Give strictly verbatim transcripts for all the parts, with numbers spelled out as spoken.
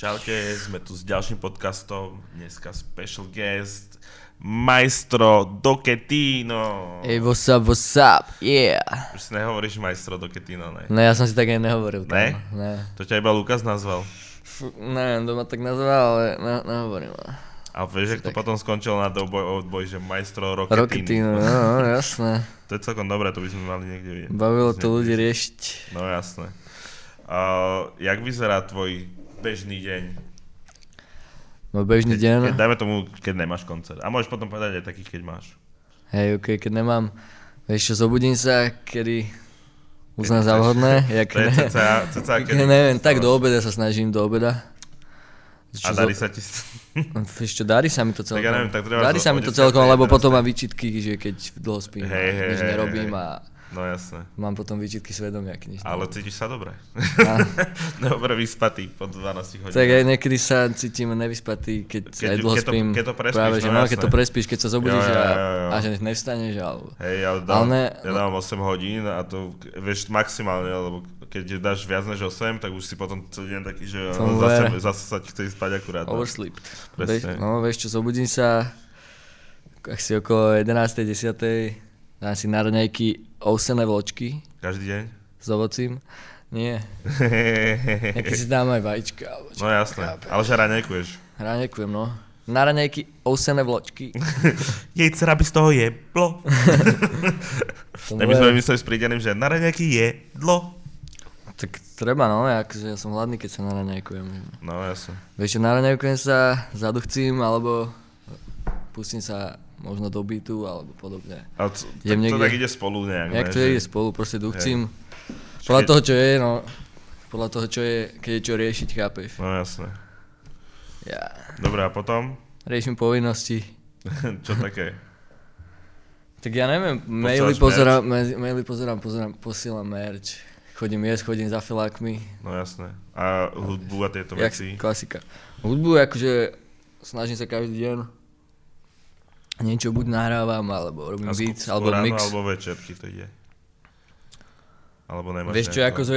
Čaute, sme tu s ďalším podcastom, dneska special guest, Maestro Doketino. Hey, what's up, what's up, yeah. Už si nehovoríš Maestro Doketino, ne? Ne, ja som si tak aj nehovoril. Ne? Tam. Ne? To ťa iba Lukas nazval. F- neviem, doma tak nazval, ale ne, nehovorím. A vieš, jak to potom skončilo na doboj, odboj, že Maestro Roketino. Roketino, no, no, jasné. To je celkom dobré, to by sme mali niekde vidieť. Bavilo to ľudí riešiť. No jasné. Uh, jak vyzerá tvoj bežný deň? No bežný keď, deň. Keď, dajme tomu, keď nemáš koncert. A môžeš potom povedať aj taký, keď máš. Hej, okej, okay, keď nemám, vieš čo, zobudím sa, kedy uznám za vhodné. Jak to je ne, cca, cca kedy? Neviem, tak do obeda sa snažím, do obeda. Čo a darí zo... sa ti... Vieš čo, darí sa mi to celkom. Tak ja neviem, tak darí sa mi to celkom, lebo potom mám výčitky, že keď dlho spím, hej, hej, nič hej, nerobím hej. a no jasné. mám potom výčitky svedomia, keď nič ale nerobím. cítiš sa dobre. A... dobre vyspatý po dvanástich hodinách. Tak aj niekedy sa cítim nevyspatý, keď, keď aj dlho keď to, spím. keď to prespíš, práve, že no, no, keď to prespíš, keď sa zobudíš jo, jo, jo, jo. A, a že nevstaneš. Alebo... Hej, ja dávam, ne, ja dávam osem hodín a to vieš maximálne, lebo keď dáš viac než osem, tak už si potom celý deň taký, že no, zase, zase sa ti chce ísť spať akurát. Oversleep. Vieš, no vieš čo, zobudím sa asi okolo jedenástej desátej, dám si na raňajky ovsené vločky. Každý deň? S ovocím. Nie. Nejaký si dám aj vajíčka. No jasné, ale že raňajkuješ. Raňajkujem, no. Na raňajky ovsené vločky. Jej dcera by z toho jedlo. Tak by sme mysleli s prídeným, že na raňajky jedlo. Tak treba, no, akože ja som hladný, keď sa naraňajkujem. No jasne. Vieš čo, naraňajkujem sa, zaduchcím, alebo pustím sa možno do beatu, alebo podobne. Ale to, tak niekde... to tak ide spolu nejak, nejak ne? to že... ide spolu, proste duchcím. Podľa keď... toho, čo je, no, podľa toho, čo je, keď je čo riešiť, chápeš? No jasne. Ja. Dobre, a potom? Riešim povinnosti. Čo také? Tak ja neviem, maily pozerám, maily pozerám, pozerám, posielam merch. Chodím jesť, chodím za filákmi. No jasné. A hudbu a tieto Jak veci? Klasika. Hudbu akože snažím sa každý deň. Niečo buď nahrávam, alebo robím a beats, skôr alebo ráno, mix. alebo večerky to ide? Alebo nemáš vieš čo, nejako... akože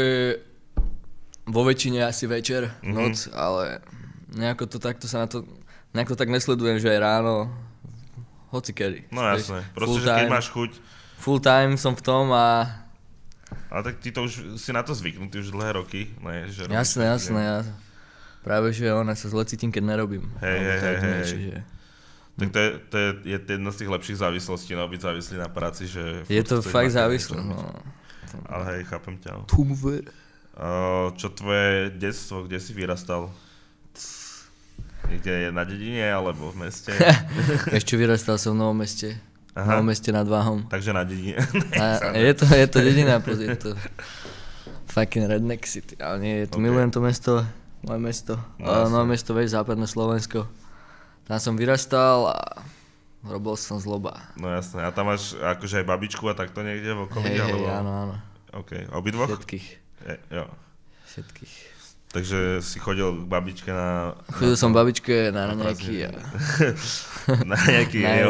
vo väčšine asi večer, mm-hmm. noc, ale nejako to takto sa na to, nejako tak nesledujem, že aj ráno, hoci kedy. No jasné, proste, že keď máš chuť. Full time som v tom a... Ale tak ty to už si na to zvyknutý už dlhé roky, ne? Že jasné, jasné, ja práve, že ona sa zle cítim, keď nerobím. Hej, hej, hej, hej. Že... Tak to je, to je, je jedna z tých lepších závislostí, no byť závislý na práci, že... Je to fakt závislé, no. Ale hej, chápem ťa. Tumver. Uh, čo tvoje detstvo, kde si vyrastal? Niekde na dedine, alebo v meste? Ešte vyrastal som v Novom Meste. V Novom Meste nad Váhom. Takže na dedine. A, je, to, je to dedina, je to fucking redneck city, ale nie, je to, okay. Milujem to mesto, moje mesto. No, Nové Mesto, vieš, západné Slovensko. Tam som vyrastal a robil som zloba. No jasné, a tam máš akože aj babičku a takto niekde v okolí? Hej, alebo... hej, áno, áno. OK, obidvoch? Všetkých. Je, jo. Všetkých. Takže si chodil k babičke na... Chodil na som to... babičke na raňajky a... na raňajky, jo.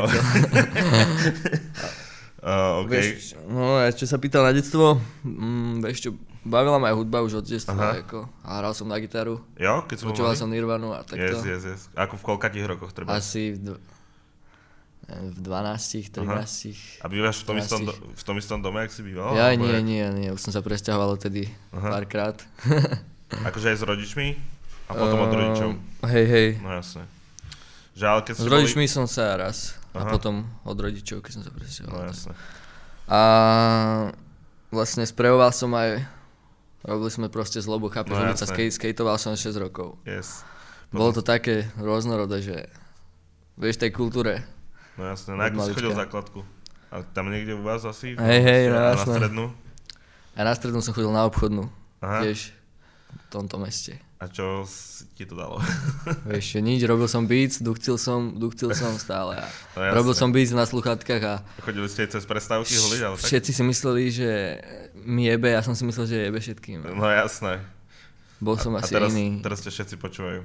uh, OK. Vieš, no a čo sa pýtal na detstvo, mm, vieš čo, bavila ma aj hudba už od detstva, ako, a hral som na gitaru. Jo, keď som počúval som Nirvanu a takto. Yes, yes, yes. Ako v koľkatých rokoch treba? Asi v, dv... v dvanástich, trinástich. A bývaš v tom, istom, do... v tom istom dome, jak si býval? Ja nie, je... nie, nie, už som sa presťahoval odtedy párkrát. Akože aj s rodičmi? A potom uh, od rodičov? Hej, hej. No jasné. Že, ale keď s rodičmi boli... som sa raz. Aha. A potom od rodičov, keď som sa presťahoval. No jasné. A vlastne sprejoval som aj, robili sme proste zlobu, chápeš, no, ulica, skate, skateoval som šesť rokov. Yes. Potom... Bolo to také rôznorodé, že vieš, tej kultúre. No jasné, na akú si chodil základku? A tam niekde u vás asi? Hej, hej, no jasné. Na strednú? A na strednú som chodil na obchodnú, aha. Vieš, v tomto meste. A čo ti to dalo? Vieš, nič, robil som beats, duchcil som, duchcil som stále a no, robil som beats na sluchátkach a... Chodili ste cez prestávky holiť, ale tak? Všetci si mysleli, že mi jebe, ja som si myslel, že jebe všetkým. No jasné. Bol som a, asi a teraz, iný. teraz ťa všetci počúvajú.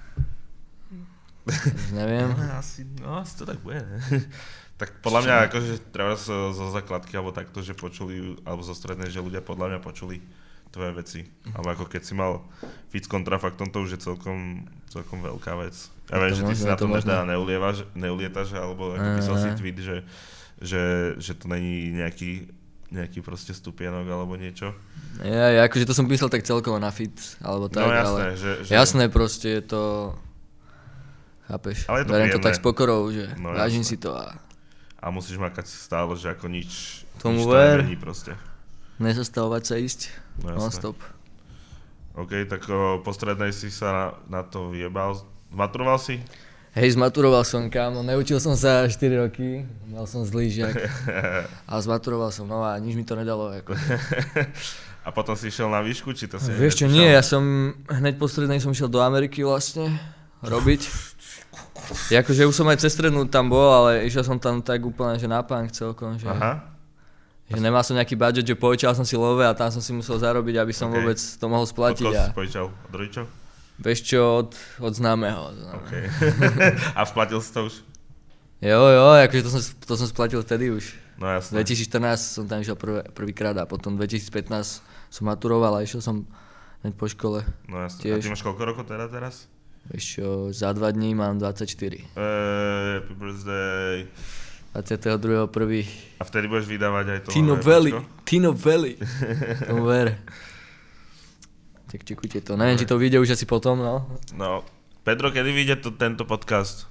Neviem. No, asi, no, asi to tak bude, ne? Tak podľa mňa, akože treba zo, zo základky, alebo takto, že počuli, alebo zo strednej, že ľudia podľa mňa počuli tvoje veci. Alebo ako keď si mal feat s kontrafaktom, to už je celkom, celkom veľká vec. Ja viem, že ty si na tom teda neulievaš, neulietaš, alebo ako písal si tweet, že, že, že to není nejaký, nejaký proste stupienok alebo niečo. Ja, ja akože to som písal tak celkovo na feat, alebo tak, no, jasné, ale že, že... jasné proste je to, chápeš, ale je to beriem príjemné. To tak s pokorou, že no, vážim jasné. si to a... A musíš makať stále, že ako nič, tomu nič to nemení proste. Nezastavovať sa ísť, no, non-stop. OK, tak o, po strednej si sa na, na to vyjebal. Maturoval si? Hej, zmaturoval som, kámo, neučil som sa štyri roky, mal som zlý žiak, ale zmaturoval som, no a nič mi to nedalo. Ako. A potom si išiel na výšku, či to si... Vieš čo, nie, ja som hneď po strednej som išiel do Ameriky vlastne robiť. Akože už som aj cez strednú tam bol, ale išiel som tam tak úplne, že na punk celkom, že... Aha. Že nemal som nejaký budget, že požičal som si love a tam som si musel zarobiť, aby som okay. vôbec to mohol splatiť. Od koho si požičal? Od rodičov? Vieš čo, od, od známeho. Okay. A splatil si to už? Jo, jo, akože to som, to som splatil vtedy už. No jasné. dvetisícštrnásť som tam išiel prv, prvýkrát a potom dvetisícpätnásť som maturoval a išiel som hneď po škole. No jasné. Tiež. A ty máš koľko rokov teda teraz? Vieš čo, za dva dní mám dvadsaťštyri. Uh, happy birthday. dvadsiateho druhého prvého A vtedy budeš vydávať aj to? Tino Valley, Tino Valley. Tomu ver. Tak čekujte to, neviem, či to vyjde už asi potom, no. No, Pedro, kedy vyjde to, tento podcast?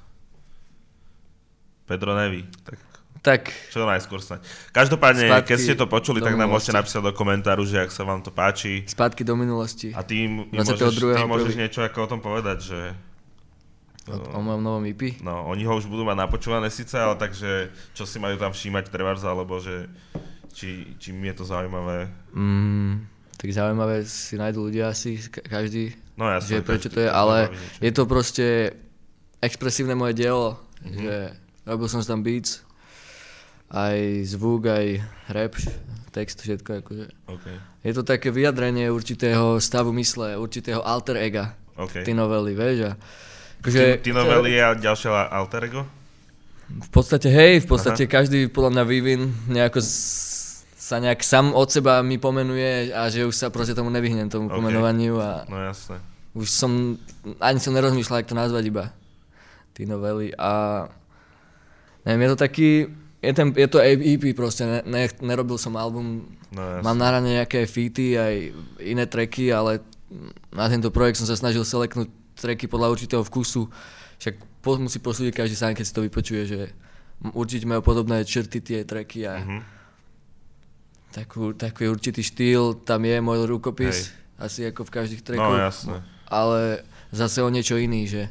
Pedro neví, tak... Tak. Čo najskôr snáď. Každopádne, keď ste to počuli, tak nám minulosti. môžete napísať do komentáru, že ak sa vám to páči. Spátky do minulosti. A ty, môžeš, ty môžeš niečo ako o tom povedať, že... O, o mojom novom í pé? No, oni ho už budú mať napočúvané síce, ale takže čo si majú tam všímať trebárs, alebo že... Či, či mi je to zaujímavé? Mm, tak zaujímavé si nájdú ľudia asi, každý, no, jasné, že prečo každý, to je, ale je to proste expresívne moje dielo, mm-hmm. že robil som tam beats, aj zvuk, aj rap, text, všetko akože. Okay. Je to také vyjadrenie určitého stavu mysle, určitého alter ega, okay. Ty novely, vieš a akože, Ty novely a ďalšie alter ego? V podstate hej, v podstate Aha. každý podľa mňa vývin nejako z, sa nejak sám od seba mi pomenuje a že už sa proste tomu nevyhnem, tomu okay. pomenovaniu a no jasné. Už som, ani som nerozmýšľal, jak to nazvať iba, Ty novely a neviem, je to taký, je, ten, je to í pé proste, ne, ne, nerobil som album, no, mám nahrané nejaké featy aj iné tracky, ale na tento projekt som sa snažil seleknúť tracky podľa určitého vkusu, však po, musí posúdiť každý sám, keď si to vypočuje, že určite majú podobné črty tie tracky a mm-hmm. takú, taký určitý štýl, tam je môj rukopis, hej. Asi ako v každých trackoch, no, jasné. Ale zase o niečo iný, že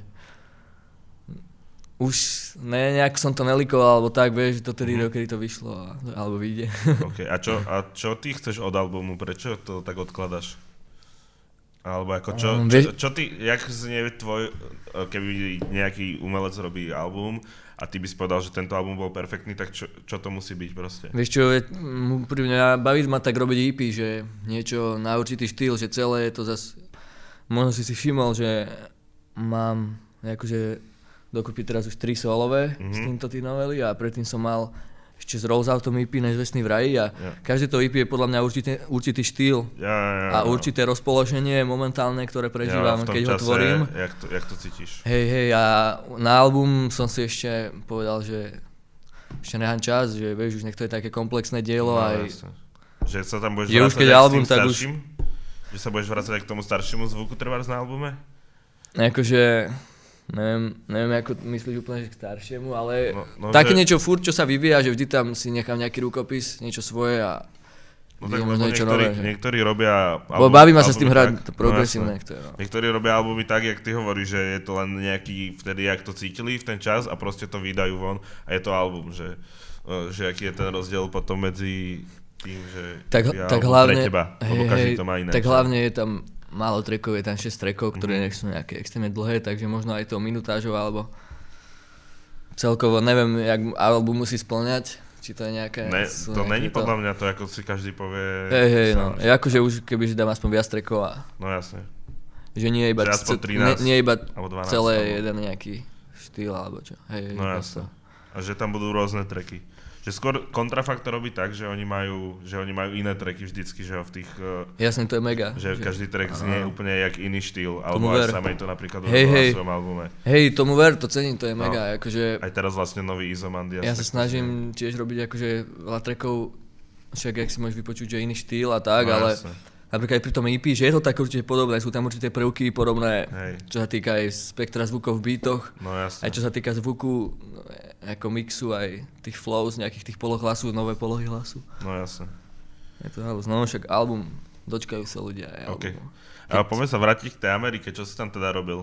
už ne, nejak som to nelikoval, alebo tak, vieš, do tedy, mm-hmm. dokedy to vyšlo, alebo vyjde. Okay. A, čo, a čo ty chceš od albumu, prečo to tak odkladaš? Alebo ako čo, um, čo, čo ty, jak znie tvoj, keby nejaký umelec robí album a ty by si povedal, že tento album bol perfektný, tak čo, čo to musí byť proste? Vieš čo, pri mňa baví ma tak robiť í pé, že niečo na určitý štýl, že celé je to zas, možno si si všimol, že mám akože dokopy teraz už tri solové mm-hmm. s týmto Ty novely a predtým som mal ešte z Rolls Outom í pé Nezvestný v raji a yeah. každé to í pé je podľa mňa určitý, určitý štýl ja, ja, ja, a určité rozpoloženie momentálne, ktoré prežívam, ja, keď čase, ho tvorím. Jak to, jak to cítiš? Hej, hej, a na album som si ešte povedal, že ešte nechám čas, že vieš, už nech to je také komplexné dielo. No, aj... Že sa tam budeš vracať aj album, k tým tak starším? Už... Že sa budeš vracať aj k tomu staršiemu zvuku trebárs na albume? Akože... Neviem, neviem, ako myslíš úplne, že k staršiemu, ale no, no, také že... niečo furt, čo sa vyvíja, že vždy tam si nechám nejaký rukopis, niečo svoje a no tak možno niečo niektorí, nové. Že... Niektorí robia... Album, baví ma sa s tým hrať, to progresívne. No, no. Niektorí robia albumy tak, jak ty hovoríš, že je to len nejaký, vtedy, jak to cítili v ten čas a proste to vydajú von a je to album, že, že aký je ten rozdiel potom medzi tým, že tak, je tak album hlavne, pre teba, hej, lebo každý hej, to má iné. Tak hlavne je tam málo trackov, je tam šesť trackov, ktoré mm-hmm. nech sú nejaké extrémne dlhé, takže možno aj to minutážov, alebo celkovo neviem, jak album musí spĺňať, či to je nejaké... Ne, to není to... podľa mňa to, ako si každý povie... Hej, hej, no, je akože už kebyže dám aspoň viac trackov a... No jasne. Že nie je iba, c- trinásť, nie, nie iba dvanásť, celé alebo... jeden nejaký štýl, alebo čo. Hej, no jasne. A že tam budú rôzne tracky. Že skôr Kontrafakt to robí tak, že oni majú, že oni majú iné tracky vždycky, že v tých... Jasne, to je mega. Že, že každý track znie úplne jak iný štýl, alebo ver. aj samej to napríklad hej, urobil hej. na svojom albume. Hej, tomu ver, to cením, to je no. mega, akože... Aj teraz vlastne nový Izomandias. Ja sa snažím tiež robiť akože veľa trackov, však jak si môžeš vypočuť, že iný štýl a tak, no, ale... Jasne. Napríklad aj pri tom é pé, že je to tak určite podobné, sú tam určité prvky podobné, hej. Čo sa týka aj spektra zvukov v beatoch, no, aj čo sa týka zvuku, ako mixu, aj tých flows, nejakých tých poloh hlasu, nové polohy hlasu. No jasne. Je to halus, no však album, dočkajú sa ľudia aj okay. album. Ale poďme sa vrátiť k tej Amerike, čo si tam teda robil?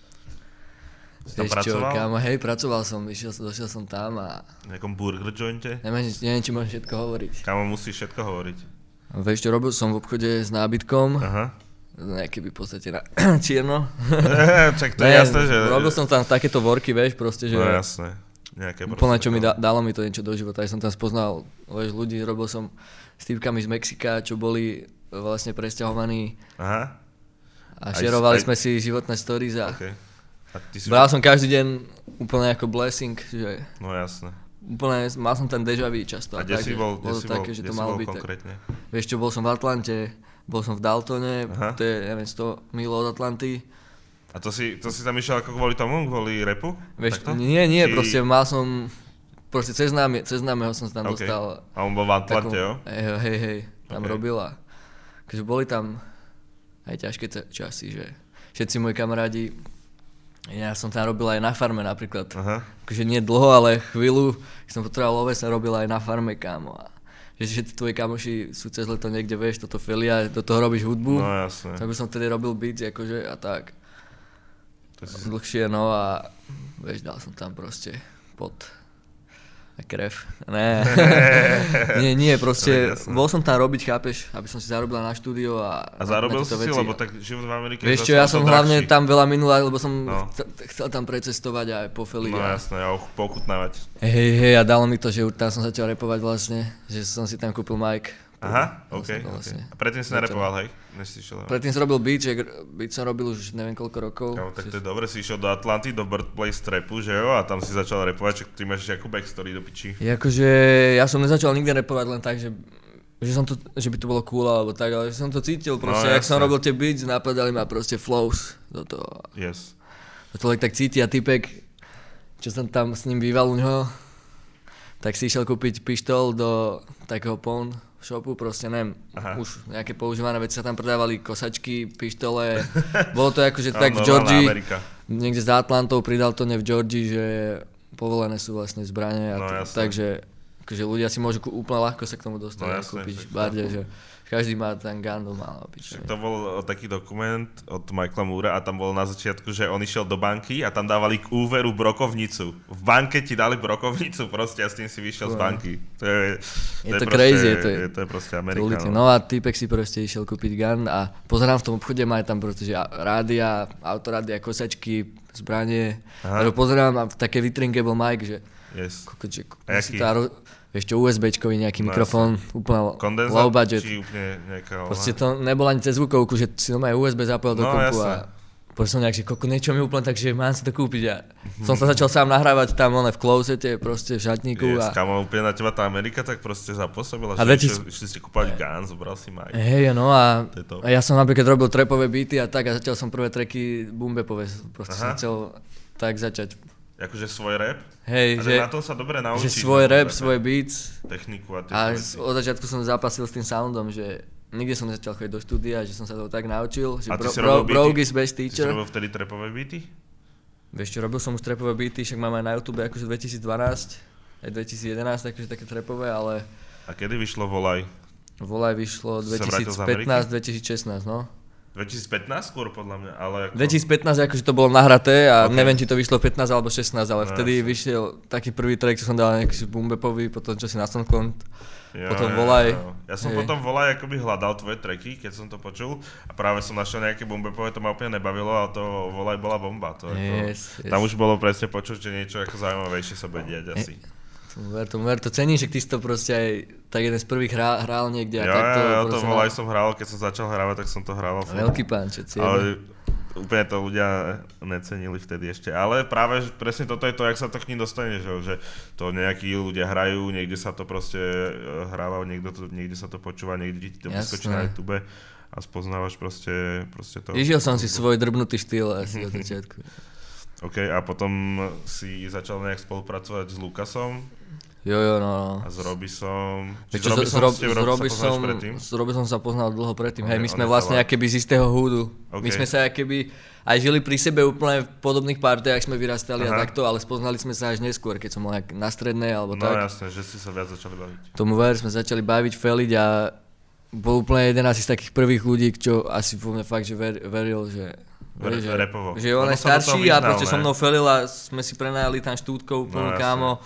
Si tam Vieš pracoval? Čo, kámo, hej, pracoval som, išiel, došiel som tam a... V nejakom burger jointe? Neviem, neviem, či môžem všetko hovoriť. Kámo, musíš všetko hovoriť. Vieš čo, robil som v obchode s nábytkom, aha. Nejaké by v podstate na čierno. Čak to je jasné, že... Robil som tam takéto worky, vieš, proste, že... No jasné. Nejaké úplne, čo mi da, dalo mi to niečo do života, ja som tam spoznal, vieš, ľudí, robil som s týpkami z Mexika, čo boli vlastne presťahovaní. Aha. A šerovali aj... sme si životné stories a... Okay. A ty si... Bral som každý deň úplne ako blessing, že... No jasné. Úplne, mal som ten déjà vu často. A kde si bol, kde si bol, také, že to malo byť konkrétne? Tak. Vieš čo, bol som v Atlante, bol som v Daltone, aha. To je, neviem, sto mil od Atlanty. A to si, to si tam išiel ako kvôli tomu, kvôli rapu? Vieš, nie, nie, Či... proste mal som, proste cez, námi, cez námeho som sa tam okay. dostal. A on bol v Atlante, takom, jo? Hej, hej, hej, tam okay. robil a takže boli tam aj ťažké časy, že všetci moji kamarádi, ja som tam robil aj na farme napríklad, aha. Akože nie dlho, ale chvíľu, keď som potreboval oves, som robil aj na farme, kámo. A že všetci tvoji kamoši sú cez leto niekde, vieš, toto felia, do toho robíš hudbu. No jasne. Tak by som vtedy robil beats, akože a tak. To si... Dlhšie, no a vieš, dal som tam proste pot a krev. Ne, nie, nie, proste bol som tam robiť, chápeš, aby som si zarobil na štúdio a... A zarobil si si, lebo tak život v Amerike... Vieš čo, ja som hlavne tam veľa minul, lebo som no. chcel tam precestovať aj po Feli. No jasné, a pochutnávať. Hej, hej, a dalo mi to, že tam som začal repovať vlastne, že som si tam kúpil mic. Aha, ok, vlastne. Okay. A predtým si nerepoval, hej? Než si šiel... Predtým som robil beat, že beat som robil už neviem koľko rokov. Kámo, tak to je dobre, si išiel do Atlanty, do birthplace trapu, že jo? A tam si začal repovať, že ty máš nejakú backstory do piči. Jakože ja som nezačal nikdy repovať len tak, že, že, som to, že by to bolo cool alebo tak, ale že som to cítil proste, no, jak som robil tie beats, napadali ma proste flows do toho. Yes. To človek tak cíti a typek, čo som tam s ním býval u ňoho, tak si išiel kúpiť pištol do takého pawn shopu, proste neviem, aha. Už nejaké používané veci sa tam predávali, kosačky, pištole, bolo to akože tak v Georgii, niekde za Atlantou, pri Daltone v Georgii, že povolené sú vlastne zbrane, a no, t- takže akože ľudia si môžu úplne ľahko sa k tomu dostať no, a kúpiť barde, že každý má ten gun doma. To bol taký dokument od Michaela Moora a tam bolo na začiatku, že on išiel do banky a tam dávali k úveru brokovnicu. V banke ti dali brokovnicu proste a s tým si vyšiel no. z banky. To je, je to, to je crazy, proste, je to, je, to je proste Amerika. No. no a týpek si proste išiel kúpiť gun a pozerám v tom obchode, má tam proste, že rádia, autorádia, kosačky, zbranie. A pozerám a v také vitrinke bol Mike, že yes. Koko, že vieš čo, USBčkový nejaký no, mikrofón, úplne kondenzát, low budget. Či úplne nejaká... Proste to nebolo ani cez zvukovku, že si normálne ú es bé zapojil do no, kompu a proste som nejak, že koko, niečo mi úplne tak, že mám si to kúpiť a mm-hmm. som sa začal sám nahrávať tam one v closete, proste v šatníku. Yes, a... Kamo, úplne na teba tá Amerika tak proste zapôsobila, že dvetisíc... išli ste kúpať gun, zobral si mic. Hej, no a, a ja som napríklad robil trapové beaty a tak a začal som prvé tracky boombapové, proste aha. som chcel tak začať. Akože svoj rap? Hej, že, na tom sa dobre naučíš. Že svoj rap, svoj beats. Techniku a tie A veci. od začiatku som zapasil s tým soundom, že nikde som nezačal chodiť do štúdia, že som sa to tak naučil. Že a ty bro, si robil bro, Brogue is best teacher. Ty si robil vtedy trapové beaty? Vieš čo, robil som už trapové beaty, však mám aj na YouTube akože dvetisícdvanásť, aj dvetisícjedenásť, akože také trapové, ale... A kedy vyšlo Volaj? Volaj vyšlo dvetisícpätnásť dvetisícšestnásť, no. dvetisícpätnásť skôr podľa mňa, ale... Ako... dvetisícpätnásť akože to bolo nahraté a okay. neviem, či to vyšlo pätnásť alebo šestnásť, ale no, vtedy jasne. Vyšiel taký prvý track, čo som dal nejaký boombapový, potom čo si na SoundCloud, potom Volaj. Jo, jo. Ja som hej. potom Volaj akoby hľadal tvoje tracky, keď som to počul a práve som našiel nejaké boombapové, to ma úplne nebavilo, ale to Volaj bola bomba. To yes, ako, yes. Tam už bolo presne počuť, že niečo ako zaujímavejšie sa bude diať asi. Tomu ver, tomu ver, to ceníš, že ty si to proste aj tak jeden z prvých hral, hral niekde a ja, takto. Ja, ja to Volaj som hral, keď som začal hrávať, tak som to hral. Veľký pán, čo cieľ. Ale úplne to ľudia necenili vtedy ešte. Ale práve presne toto je to, jak sa to k ním dostane, že, že to nejakí ľudia hrajú, niekde sa to proste hráva, niekde, to, niekde sa to počúva, niekde ti to vyskočí na YouTube a spoznávaš proste, proste to. Išiel som si svoj drbnutý štýl asi od začiatku. OK, a potom si začal nejak spolupracovať s Lukasom. Jo, jo, no. A s Robisom. Či s Robisom, s Robisom, s Robisom sa poznal dlho predtým. Okay, hej, my sme vlastne akéby z istého húdu. Okay. My sme sa akéby aj žili pri sebe úplne v podobných partiách, sme vyrastali Aha. a takto, ale spoznali sme sa až neskôr, keď som bol na strednej alebo no, tak. No jasné, že ste sa viac začali baviť. Tomu ver sme začali baviť, feliť a bol úplne jeden asi z takých prvých ľudí, čo asi vo mne fakt, že ver, veril, že... Re, že, že on je starší a proste so mnou felil a sme si prenajali tam štúdkou úplnú no, kámo.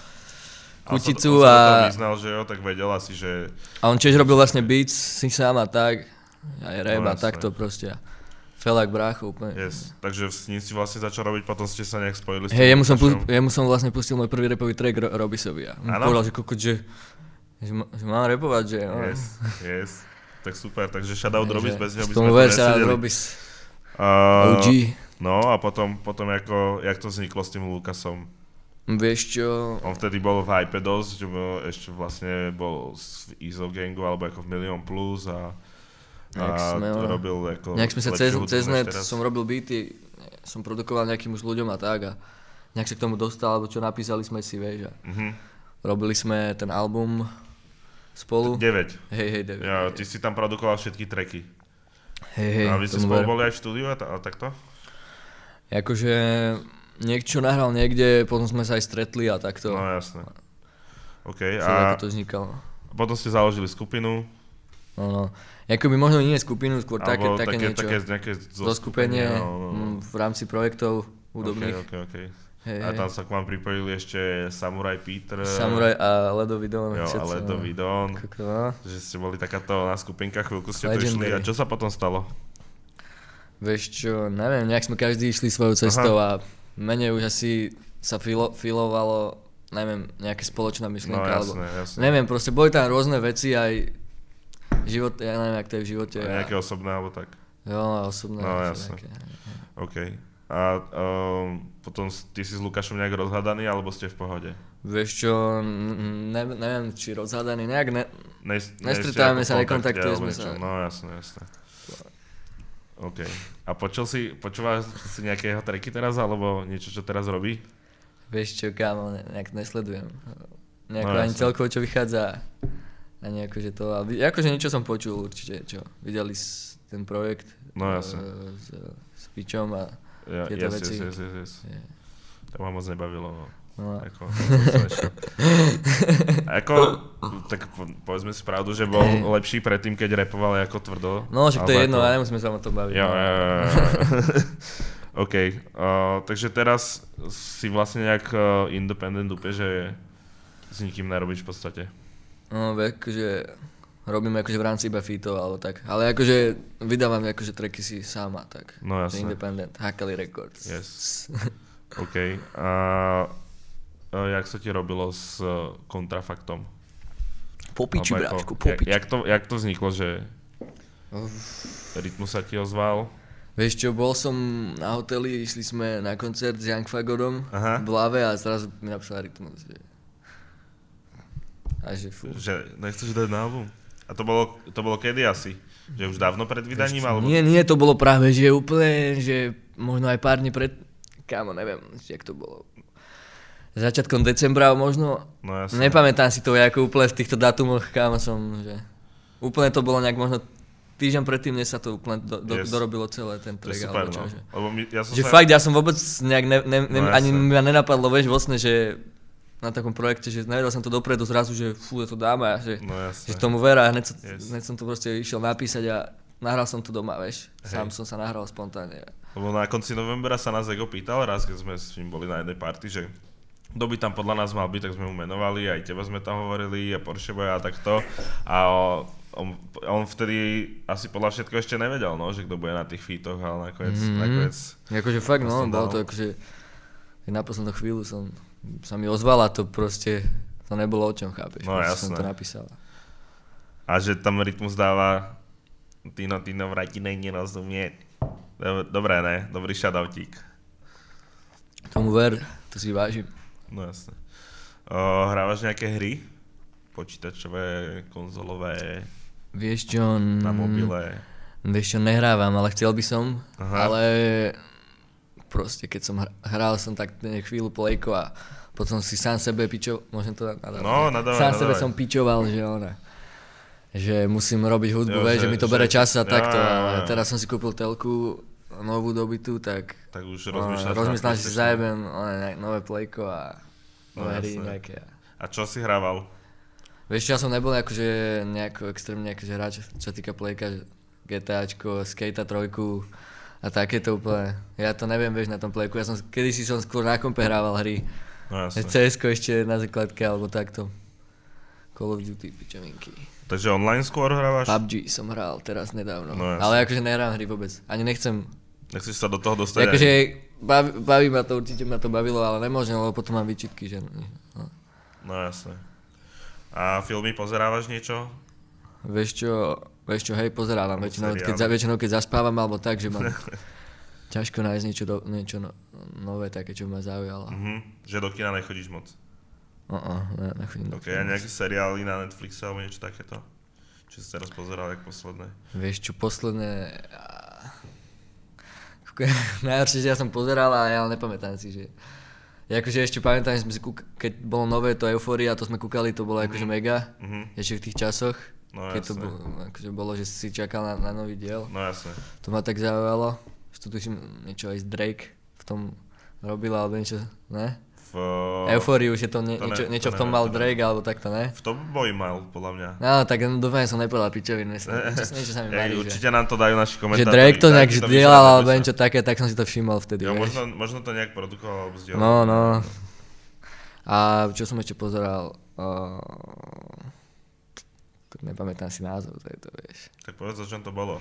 Kuticu a... On sa vyznal, že jo, tak vedel asi, že... A on tiež robil vlastne beats si sám a tak, aj rap no, a takto proste. Felak brácho úplne. Yes. Takže s ním si vlastne začal robiť, potom ste sa nejak spojili s tým. Hej, jemu som, pu- jemu som vlastne pustil môj prvý rapový track Ro- Robisovi a on povedal, že kokot, že, že, má, že mám rapovať, že... No. Yes, yes. Tak super, takže shoutout Robis, bez neho by sme to nesedeli. Robis. Uh, ó gé. No a potom, potom ako, jak to vzniklo s tým Lukasom? Vieš čo? On vtedy bol v Hype dosť, že bol, ešte vlastne bol v Izo Gangu alebo ako v Million Plus a, a sme, to robil ako nejak sme sa cez, cez net, som robil beaty, som produkoval nejakým už ľuďom a tak a nejak sa k tomu dostal, alebo čo napísali sme si, vieš a mm-hmm. robili sme ten album spolu. deväť. Hej, hej, deväť. Ja, ty si tam produkoval všetky tracky. Hej, hej. A vy ste spolu boli aj v štúdiu a, t- a takto? Akože... Niekto nahral niekde, potom sme sa aj stretli a takto. No jasné. OK, a... to vznikalo. A potom ste založili skupinu. No, no. Jakoby možno nie skupinu, skôr také, také, také niečo. Také nejaké zoskupenie no, no, no. v rámci projektov hudobných. OK, OK, OK. Hey, a tam sa k vám pripojili ešte Samurai Peter. Samurai a Ledový Don. Jo, a Ledový Don. Že ste boli takáto na skupinka, chvíľku ste to išli. A čo sa potom stalo? Vieš čo, neviem, nejak sme každý išli svojou cestou Aha. a menej už asi sa filo, filovalo, neviem, nejaká spoločná myšlienka, no, jasné, alebo jasné. neviem, proste boli tam rôzne veci aj život, ja neviem, jak to je v živote. A nejaké a... osobné, alebo tak? Jo, osobné. No jasné, nejaké. OK. A um, potom ty si s Lukášom nejak rozhadaný, alebo ste v pohode? Vieš čo, ne, neviem, či rozhadaný, nejak ne, ne, nestretávame sa, nekontaktujeme sa. No jasné, jasné. OK. A počul si, počúvaš si nejakého tracky teraz, alebo niečo, čo teraz robí? Vieš čo, kámo, ne, nejak nesledujem. Nejako no, ani celkovo, čo vychádza. Ani akože to, ale akože niečo som počul určite, čo. Videli ten projekt no, jasne. s, s Pičom a ja, tieto yes, veci. Yes, yes, yes, yes. Yeah. To ma moc nebavilo, no. No. Ako, ako, tak po, povedzme si pravdu, že bol hey. lepší predtým, keď rapoval ako tvrdo. No, však to je jedno, ale nemusíme sa o tom baviť. Jo, no. jo, jo, jo. OK, uh, takže teraz si vlastne nejak uh, independent úplne, že s nikým nerobíš v podstate. No, akože robím akože v rámci iba featov alebo tak, ale akože vydávam akože tracky si sám a tak. No jasne. Independent, Hakali Records. Yes. OK, a uh, jak sa ti robilo s uh, kontrafaktom? Popiči, bráčku, popiči. Jak, jak, to, jak to vzniklo, že Rytmus sa ti ozval? Vieš čo, bol som na hoteli, išli sme na koncert s Young Fagodom v Lave a zrazu mi napísal Rytmus, že... A že fú. Že nechceš dať na album? A to bolo, to bolo kedy asi? Že už dávno pred vydaním? Alebo... Nie, nie, to bolo práve, že úplne, že možno aj pár dní pred... Kámo, neviem, jak to bolo. Začiatkom decembra možno. No jasne. Nepamätám si to ako úplne v týchto datumoch, kámo som, že... Úplne to bolo nejak možno týždeň predtým, než sa to úplne do, do, yes. dorobilo celé ten track. Super, alebo čo, no. že... Lebo my, ja som že sa... fakt, ja som vôbec nejak ne, ne, ne, no ani mi nenapadlo, vieš, vlastne, že na takom projekte, že nevedel som to dopredu zrazu, že fú, to dáme a že, no že tomu vera a hneď, yes. hneď som to proste išiel napísať a nahral som to doma, vieš. Sám hey. som sa nahral spontánne. Lebo na konci novembra sa nás Ego pýtal raz, keď sme s ním boli na jednej party, že kto by tam podľa nás mal byť, tak sme mu menovali, aj teba sme tam hovorili a Porsche Boy a takto. A on, on vtedy asi podľa všetko ešte nevedel, no, že kto bude na tých featoch, ale nakoniec... Mm-hmm. nakoniec akože fakt, no, bolo to akože... Na poslednú chvíľu som sa mi ozval a to proste... To nebolo o čom, chápeš? No jasné. Som to napísal. A že tam Rytmus dáva Tino, Tino, vrati nej nerozumie. Dobré, ne? Dobrý shoutoutík. Tomu ver, to si vážim. No jasne. Uh, hrávaš nejaké hry? Počítačové, konzolové? Vieš čo... Na mobile? Vieš čo, nehrávam, ale chcel by som. Aha. Ale proste keď som hral som tak chvíľu plejko a potom si sám sebe pičoval, môžem to nadávať? No, nadávaj, Sám nadávaj. sebe som pičoval, že ona... že musím robiť hudbu, Jo, vieš, že, že mi to bere čas a ja, takto, ja, ja. ale teraz som si kúpil telku, novú dobytú, tak... Tak už rozmýšľaš... Rozmýšľam, že si zajebem nové plejko a nové no, hry nejaké. A čo si hrával? Vieš čo, ja som nebol akože nejako extrémne akože hráč, čo týka plejka, GTAčko, Skate trojku a takéto úplne. Ja to neviem, vieš, na tom plejku, ja som, kedysi som skôr na kompe hrával hry. No jasne. cé esko ešte na základke alebo takto. Call of Duty, pičovinky. Takže online skôr hrávaš? pé ú bé gé som hral teraz nedávno, no, ale akože nehrám hry vôbec, ani nechcem. Nechceš sa do toho dostať? Akože baví, baví ma to, určite ma to bavilo, ale nemôžem, lebo potom mám výčitky, že... No, no jasne. A filmy pozerávaš niečo? Vieš čo, vieš čo, hej, pozerávam väčšinou, keď, za, väčšinou keď zaspávam alebo tak, že mám ťažko nájsť niečo, do, niečo no, nové také, čo ma zaujalo. Uh-huh. Že do kina nechodíš moc? Uh-uh, ne, nechodím do kina. Ok, a nejaké seriály na Netflixe alebo niečo takéto? Či si teraz pozeral, jak posledné? Vieš čo, posledné... Najhoršie, že ja som pozeral, ale ja nepamätám si, že... Ja akože ešte pamätám, že sme si kúk... keď bolo nové to Euphoria, to sme kúkali, to bolo mm-hmm. akože mega, mm-hmm. ešte v tých časoch, no, keď jasne. to bolo, akože bolo, že si čakal na, na nový diel. No jasne. To ma tak zaujalo, že tu tuším niečo aj z Drake v tom robil, alebo niečo, ne? V... Euforiu, že to, nie, to niečo, ne, niečo to v tom neviem, mal Drake, neviem. Alebo takto, ne? V tom boj mal, podľa mňa. No, tak dúfam, som nepovedal pičovinu, niečo, niečo sa mi marí, že... Určite nám to dajú naši komentátori. Že Drake to nejak zdieľal, alebo niečo také, tak som si to všimol vtedy, jo, možno, možno to nejak produkoval, alebo zdieľal. No, no. A čo som ešte pozeral, uh, tak nepamätám si názov tejto, vieš. Tak povedz, o čom to bolo.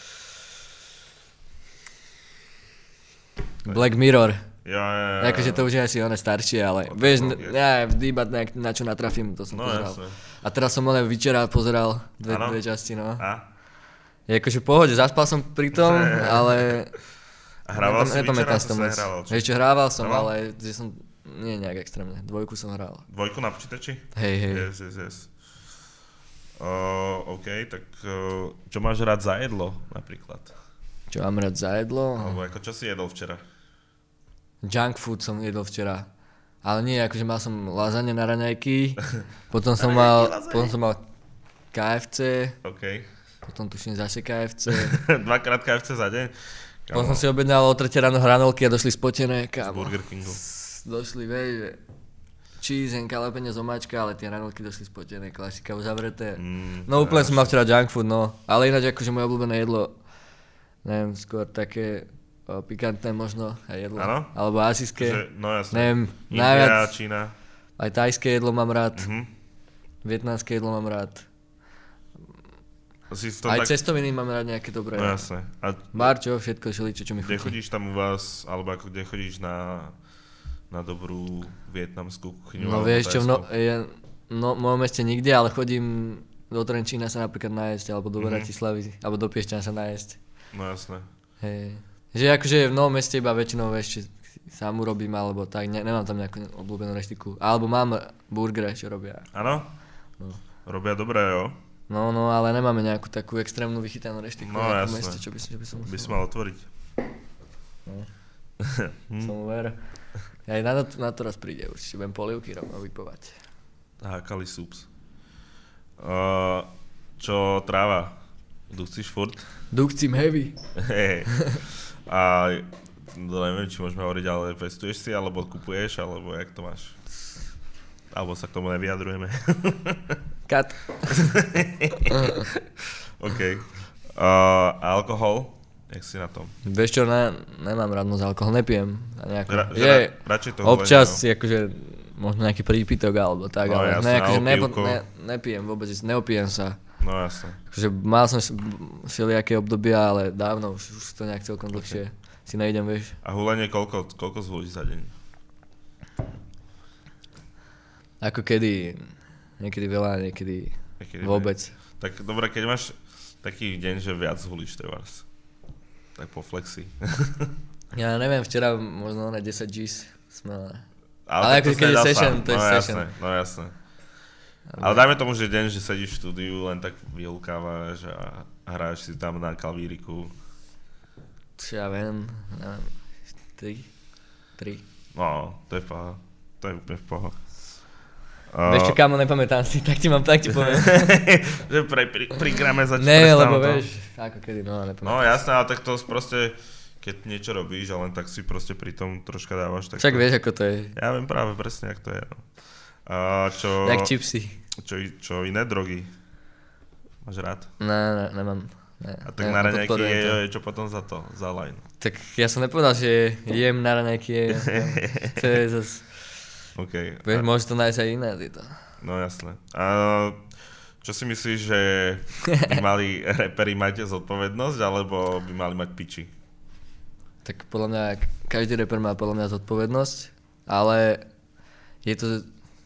Black Mirror. Ja, ja, ja. Akože to už je asi one staršie, ale no, vieš, n- ja vždy iba na, na čo natrafím, to som no, pozeral. Jasne. A teraz som len včera pozeral dve, dve časti, no. A? Je akože v pohode, zaspal som pri tom, ale... A hrával si včera, to sa hrával? Vieš čo, hrával som, hrával? Ale že som, nie nejak extrémne, dvojku som hral. Dvojku na počítači? Hej, hej. Yes, yes, yes. Uh, OK, tak uh, čo máš rád za jedlo napríklad? Čo mám rád za jedlo? Alebo ako čo si jedol včera? Junk food som jedol včera. Ale nie, akože mal som lasagne na raňajky, potom som mal, potom som mal ká ef cé, OK. potom tuším zase ká ef cé. Dvakrát ká ef cé za deň? Kámo. Potom som si objednal o tretie ráno hranolky a došli spotené, kámo. Z Burger Kingu. Došli, vieš, že cheese, henka, lepenie z omáčka, ale tie hranolky došli spotené, klasika uzavreté. Mm, no úplne som mal včera junk food, no. Ale ináč akože moje obľúbené jedlo, neviem, skôr také o, pikantné možno aj jedlo. Ano? Alebo asijské. Že, no jasne. Neviem, India, najviac. Čína. Aj thajské jedlo mám rád. Uh-huh. Vietnamské jedlo mám rád. Si aj tak... cestoviny mám rád nejaké dobré. No jasne. A Barčo, všetko, šeličo, čo mi chutí. Kde chodíš tam u vás, alebo ako kde chodíš na, na dobrú vietnamskú kuchyňu? No vieš čo, no, ja, no, v mojom meste nikde, ale chodím do Trenčína sa napríklad nájsť, alebo do Bratislavy, mm-hmm. alebo do Piešťan sa nájsť. No jasné. Hej. Že akože v novom meste iba väčšinou ešte sám urobím, alebo tak, ne, nemám tam nejakú obľúbenú reštiku. Alebo mám burgery, čo robia. Áno? No. Robia dobré, jo? No, no, ale nemáme nejakú takú extrémnu vychytanú reštiku no, v jasné. meste, čo by, čo by som musel. By si mal otvoriť. No. Som ver. Aj na to, na to raz príde, určite budem polievky rovno vypovať. Hákali súps. Uh, čo tráva? Dusíš furt? Dukcím heavy. Hey. A no, neviem, či môžeme hovoriť, ale pestuješ si, alebo kupuješ, alebo jak to máš? Alebo sa k tomu nevyjadrujeme. Kat. OK. Uh, alkohol? Jak si na tom? Vieš čo, ne, nemám rád moc alkohol, nepijem. Ra, je, ra, radšej to občas hovorím, si akože, možno nejaký prípitok alebo tak, no, ale jasné, ne, akože nepo, pivko. ne, nepijem vôbec, neopijem sa. No jasne. Akože mal som všelijaké obdobia, ale dávno, už, už to nejak celkom dlhšie okay. si nejdem, vieš. A hulenie koľko, koľko zvolíš za deň? Ako kedy, niekedy veľa, niekedy, niekedy vôbec. Ne. Tak dobre, keď máš taký deň, že viac hulíš trebárs. tak po flexi. Ja neviem, včera možno na desať G's sme... Ale, ale akože keď je session, to je no, session. Jasné, no jasné. Ale dajme tomu, že deň, že sedíš v štúdiu, len tak vyhľukávaš a hráš si tam na klavíriku. Čo ja viem, neviem, tri, tri. No, to je paha, to je úplne v poha. Uh, Vieš čo, kámo, nepamätám si, tak ti mám, tak ti poviem. Že pre, pri, pri grame začať ne, lebo to. Vieš, ako kedy, no nepamätám. No jasné, ale tak to proste, keď niečo robíš a len tak si proste pri tom troška dávaš. Tak Však to, vieš, ako to je. Ja viem práve presne, ako to je. No. Uh, čo, Jak čipsy. Čo, čo iné drogy? Máš rád? Ne, ne, nemám. Ne, a tak na raňajky je, je čo potom za to, za line? Tak ja som nepovedal, že jem na raňajky, to je zase... Okay. Vieš, a... môže to nájsť aj iné, to. No jasné. A čo si myslíš, že by mali reperi mať zodpovednosť, alebo by mali mať piči? Tak podľa mňa, každý reper má podľa mňa zodpovednosť, ale je to...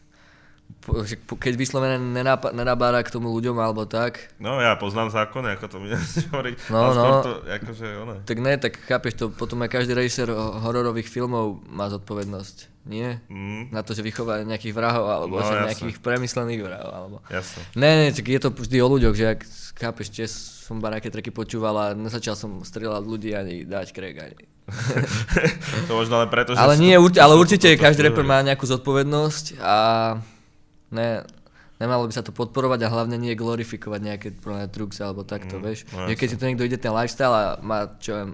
Keď vyslovené nenabára k tomu ľuďom alebo tak. No ja poznám zákony, ako to mi nechceš hovoriť. No, no. To, akože ono. Tak ne, tak chápeš to, potom aj každý režisér hororových filmov má zodpovednosť, nie? Mm. Na to, že vychová nejakých vrahov, alebo no, že jasne. nejakých premyslených vrahov, alebo... Jasne. Ne, ne, tak je to vždy o ľuďoch, že ak chápeš, tiež som baráke tracky počúval a nezačal som strieľať ľudí ani dať krek ani... To možno len preto, že... Ale nie, to, určite, ale to, určite to, to, to, každý to, reper má nejakú zodpovednosť a... Ne, nemalo by sa to podporovať a hlavne nie glorifikovať nejaké drugs alebo takto, mm, vieš. No, že keď si to niekto ide ten lifestyle a má, čo viem,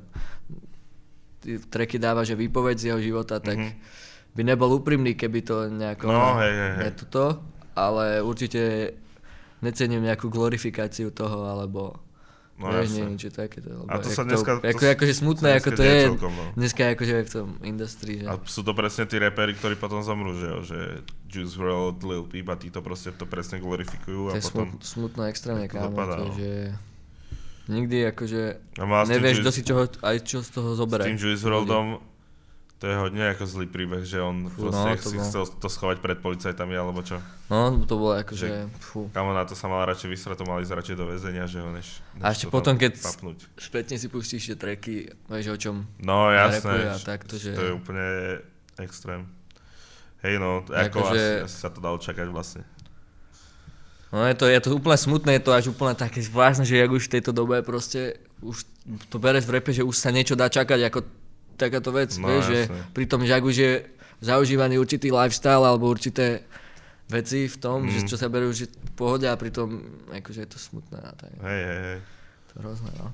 tracky dáva, že výpoveď z jeho života, tak mm-hmm. by nebol úprimný, keby to nejako... No, hej, hej, hej. Netuto, ale určite necením nejakú glorifikáciu toho, alebo... No, vieš, nie, niečo takéto. A to sa dneska... To, ako, akože smutné, ako to je celkom, no. dneska akože v tom industrii, že... A sú to presne tí reperi, ktorí potom zomrú, že jo, že Juice world, Lil Peep a tí to proste to presne glorifikujú a to je potom... Smut, smutno extrémne, kámo, dopadá, to, no. že... Nikdy akože no, nevieš, kto Juice... si čoho, aj čo z toho zoberie. S tým Juice worldom, to je hodne ako zlý príbeh, že on fú, proste no, si bol... chcel to schovať pred policajtami, alebo čo? No, to bolo akože, fú. Kamo na to sa mal radšej vysrať, to mali ísť radšej do väzenia, že ho než, než a ešte potom, keď papnúť. spätne si pustíš tie tracky, vieš o čom no, jasné, a takto, že... to je úplne extrém. Hej no, ako akože... asi, asi sa to dalo čakať vlastne. No je to, je to úplne smutné, je to až úplne také zvláštne, že jak už v tejto dobe proste, už to bereš v repe, že už sa niečo dá čakať ako takáto vec, no, vieš, že pri tom, že ak už je zaužívaný určitý lifestyle alebo určité veci v tom, mm. že čo sa berú už v pohode a pritom akože je to smutné. Tak, hej, hej, hej. To hrozné, no.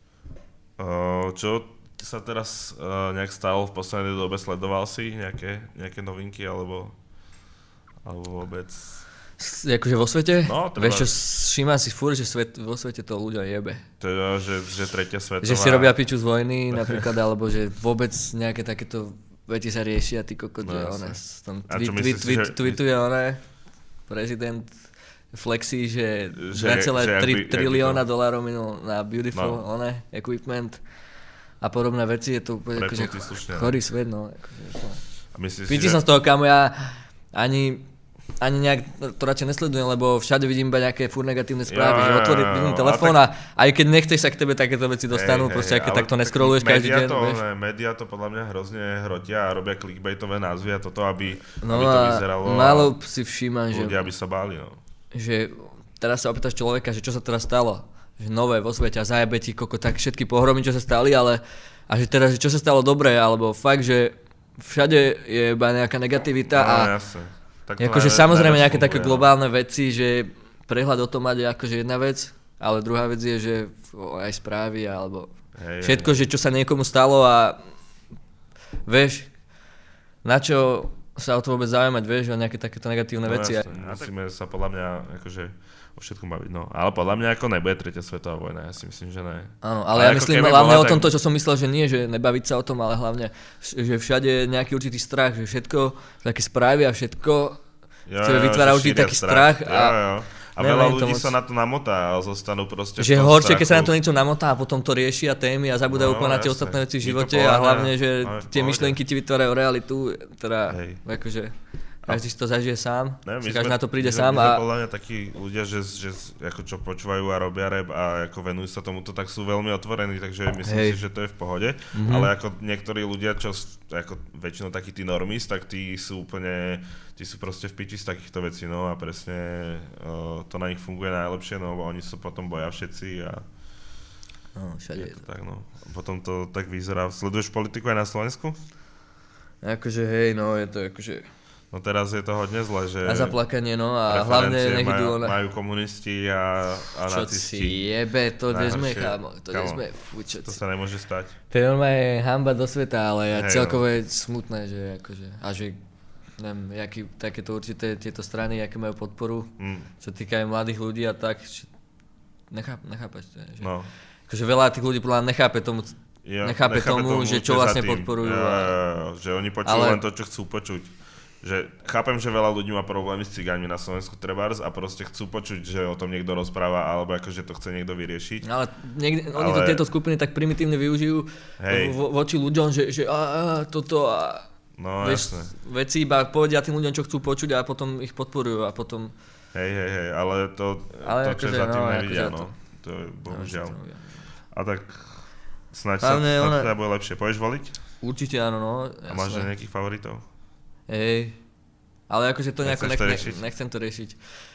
Uh, čo sa teraz uh, nejak stalo v poslednej dobe? Sledoval si nejaké, nejaké novinky alebo, alebo vôbec? S, akože vo svete? No, treba... Vieš čo, všímam si furt, že svet, vo svete to ľudia jebe. Teda, že, že tretia svetová... Že si robia piču z vojny napríklad, alebo že vôbec nejaké takéto veci sa riešia, ty kokot, no, že one, tam tweet, tweet, tweet, že... tweetuje one, prezident flexí, že dva celé tri trilióna dolárov minul na beautiful, no. one, equipment a podobné veci, je to úplne akože chorý svet, no. Akože, Píči že... som z toho, kamo, ja ani... Ani nejak to radšej nesledujem, lebo všade vidím iba nejaké furt negatívne správy, jo, že otvorím, vidím telefón a, tak... a aj keď nechceš sa k tebe takéto veci dostanú, hey, proste hey, aké takto neskroluješ každý deň. To, ne, média to podľa mňa hrozne hrotia a robia clickbaitové názvy a toto, aby, no aby to vyzeralo. No málo si všímam, že... ľudia by sa báli, no. Že teraz sa opýtaš človeka, že čo sa teraz stalo, že nové vo svete a zajebe ti koko tak všetky pohromy, čo sa stali, ale a že teraz, že čo sa stalo dobré, alebo fakt, že všade je iba nejaká negativita no, a... Jasne. Akože samozrejme nejaké také globálne veci, že prehľad o tom mať je akože jedna vec, ale druhá vec je, že aj správy alebo hej, všetko, hej. Že čo sa niekomu stalo a vieš, na čo sa o to vôbec zaujímať, vieš, o nejaké takéto negatívne no, veci. Jasne, musíme sa podľa mňa akože o všetkom baviť, no. Ale podľa mňa ako nebude tretia svetová vojna, ja si myslím, že ne. Áno, ale, ale ja myslím hlavne bola, o tomto, tak... čo som myslel, že nie, že nebaviť sa o tom, ale hlavne, že všade je nejaký určitý strach, že všetko, také správy a všetko, jo, jo, vytvára určitý taký strach. strach a, jo, jo. a veľa ľudí moc... sa na to namotá a zostanú proste že horšie, keď sa na to niečo namotá a potom to riešia témy a zabúdajú no, úplne na tie ostatné veci v živote a hlavne, že no, tie myšlienky ti vytvárajú realitu, teda Hej. akože... Každý si to zažije sám, ne, si každý na to príde my sám. My sme a... podľa mňa takí ľudia, že, že ako čo počúvajú a robia rap a ako venujú sa tomuto, tak sú veľmi otvorení, takže myslím Hej. si, že to je v pohode. Mm-hmm. Ale ako niektorí ľudia, čo ako väčšinou takí tí normies, tak tí sú úplne, tí sú proste v piči z takýchto vecí, no a presne uh, to na nich funguje najlepšie, no oni sa potom boja všetci a no, všade je to. Tak, no. Potom to tak vyzerá. Sleduješ politiku aj na Slovensku? Akože hej, no je to akože... No teraz je to hodne zle, že... A zaplakanie, no a hlavne nech idú... Majú, majú komunisti a, a čo nacisti. Čo si jebe, to kde sme, chámo, to kde sme, fú, čo To sa nemôže stať. To je normálne hanba do sveta, ale ja hey, celkovo je smutné, že akože... A že, neviem, jaký, takéto určité tieto strany, aké majú podporu, mm. čo týka aj mladých ľudí a tak, že... Necháp, nechápať, že... No. Akože veľa tých ľudí podľa nechápe tomu... Ja, nechápe, nechápe tomu, tomu, že čo vlastne podporujú. Ja, ja, ja, že oni počujú ale... len to, čo chcú počuť. Že chápem, že veľa ľudí má problémy s cigánmi na Slovensku trebárs a proste chcú počuť, že o tom niekto rozpráva alebo akože to chce niekto vyriešiť. Ale niekde, ale... oni to tieto skupiny tak primitívne využijú vo, voči ľuďom, že, že a, a, toto a no, vieš, veci iba povedia tým ľuďom, čo chcú počuť a potom ich podporujú a potom... Hej, hej, hej, ale to, ale to čo akože, za tým no, nevidia, no. To je bohužiaľ. A tak... Snaď sa, ona... sa bude lepšie. Pôjdeš voliť? Určite áno, no. A máš nejakých favoritov? Hej, ale akože to nejako nech, to nech, nechcem to riešiť.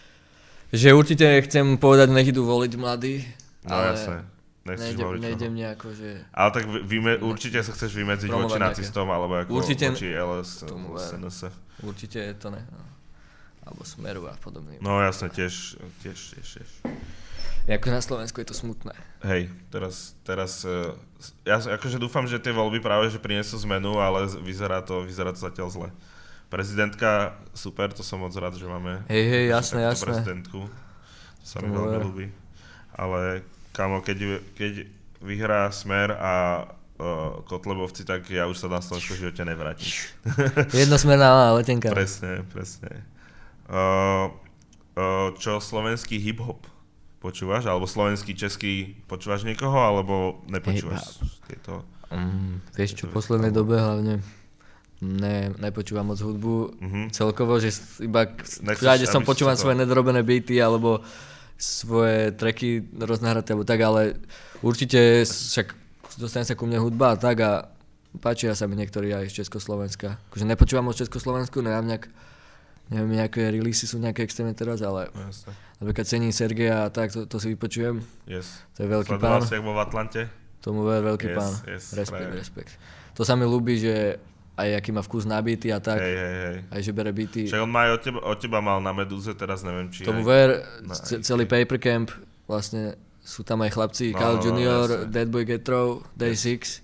Že určite chcem povedať, nech idú voliť mladí, no, ale jasné. Nejdem, voliť nejdem nejako, že... Ale tak vyme, určite sa chceš vymedziť voči nacistom, alebo ako určite, voči el es en es. Určite je to ne, no. Alebo Smeru a podobným. No jasné, tiež, tiež, tiež, tiež. Jako na Slovensku je to smutné. Hej, teraz, teraz, ja akože dúfam, že tie voľby práve že prinesú zmenu, ale vyzerá to, vyzerá to zatiaľ zle. Prezidentka, super, to som moc rád, že máme hej, hej, jasné, jasné. prezidentku. To sa mi veľmi ľúbi. Ale kamo, keď, keď vyhrá Smer a uh, Kotlebovci, tak ja už sa na Slovensku v živote nevrátim. Jednosmerná letenka. Presne, presne. Uh, uh, čo slovenský hip-hop? Počúvaš? Alebo slovenský, český, počúvaš niekoho, alebo nepočúvaš tieto? Um, vieš čo, v poslednej dobe hlavne ne, nepočúvam moc hudbu. Uh-huh. Celkovo, že iba všade som počúvam svoje nedorobené beaty, alebo svoje tracky roznahraté, alebo tak, ale určite však dostane sa ku mne hudba a tak a páčia sa mi niektorí aj z Československa. Akože nepočúvam od Československu, neviem nejak neviem, nejaké releasy sú nejaké extrémne teraz, ale jasne. Napríklad cením Sergeja a tak, to, to si vypočujem. Yes. To je veľký Sledoval pán. Si, jak bol v Atlante? Tomu ver, veľký yes, pán. Yes, respekt, respekt. To sa mi ľúbi, že aj aký má vkus na beaty a tak. Hej, hej, hej. Aj že bere beaty. Však on má aj od teba, od teba mal na Medúze, teraz neviem, či... Tomu ver, c- celý Paper Camp, vlastne sú tam aj chlapci, no, Kyle no, junior, no, Deadboy Getro, Day six.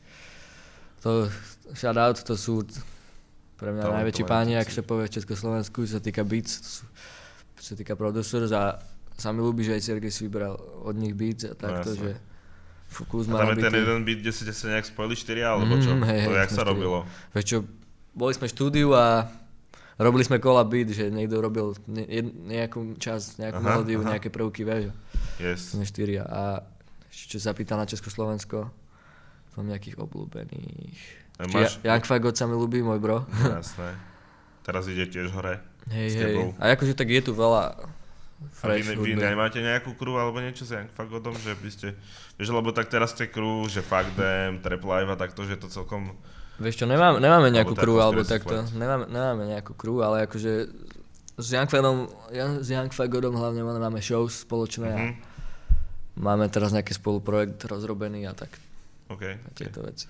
To, shout out, to sú... Pre mňa to najväčší páni, ak sa povie v Československu, čo sa týka beats, čo sa týka producers a sa mi ľúbi, že aj Sergej si vybral od nich beats a takto, no, že Focus má na beaty. A tam je ten jeden beat, kde ste sa nejak spojili štyria, alebo čo? Mm, hej, to hej, jak sa robilo? Vieš čo, boli sme v štúdiu a robili sme kola beat, že niekto robil ne, nejakú časť, nejakú aha, melódiu, aha. nejaké prvky, vieš. Yes. Sme štyria a čo sa pýta na Československo, mám nejakých obľúbených. Máš... Young Fagot sa mi ľúbi, môj bro. Jasné. Teraz ide tiež hore. Hej, hej. A akože tak je tu veľa fresh hudby. A vy, vy nemáte nejakú crew alebo niečo s Young Fagotom, že by ste... Vieš, lebo tak teraz ste crew, že Fuck Them, Trap Live a takto, že to celkom... Vieš čo, nemáme, nemáme nejakú crew alebo takto. Nemáme, nemáme nejakú crew, ale akože s Young Fagotom, s Young Fagotom hlavne máme shows spoločné mm-hmm. a máme teraz nejaký spoluprojekt rozrobený a tak. OK. A tieto okay. veci.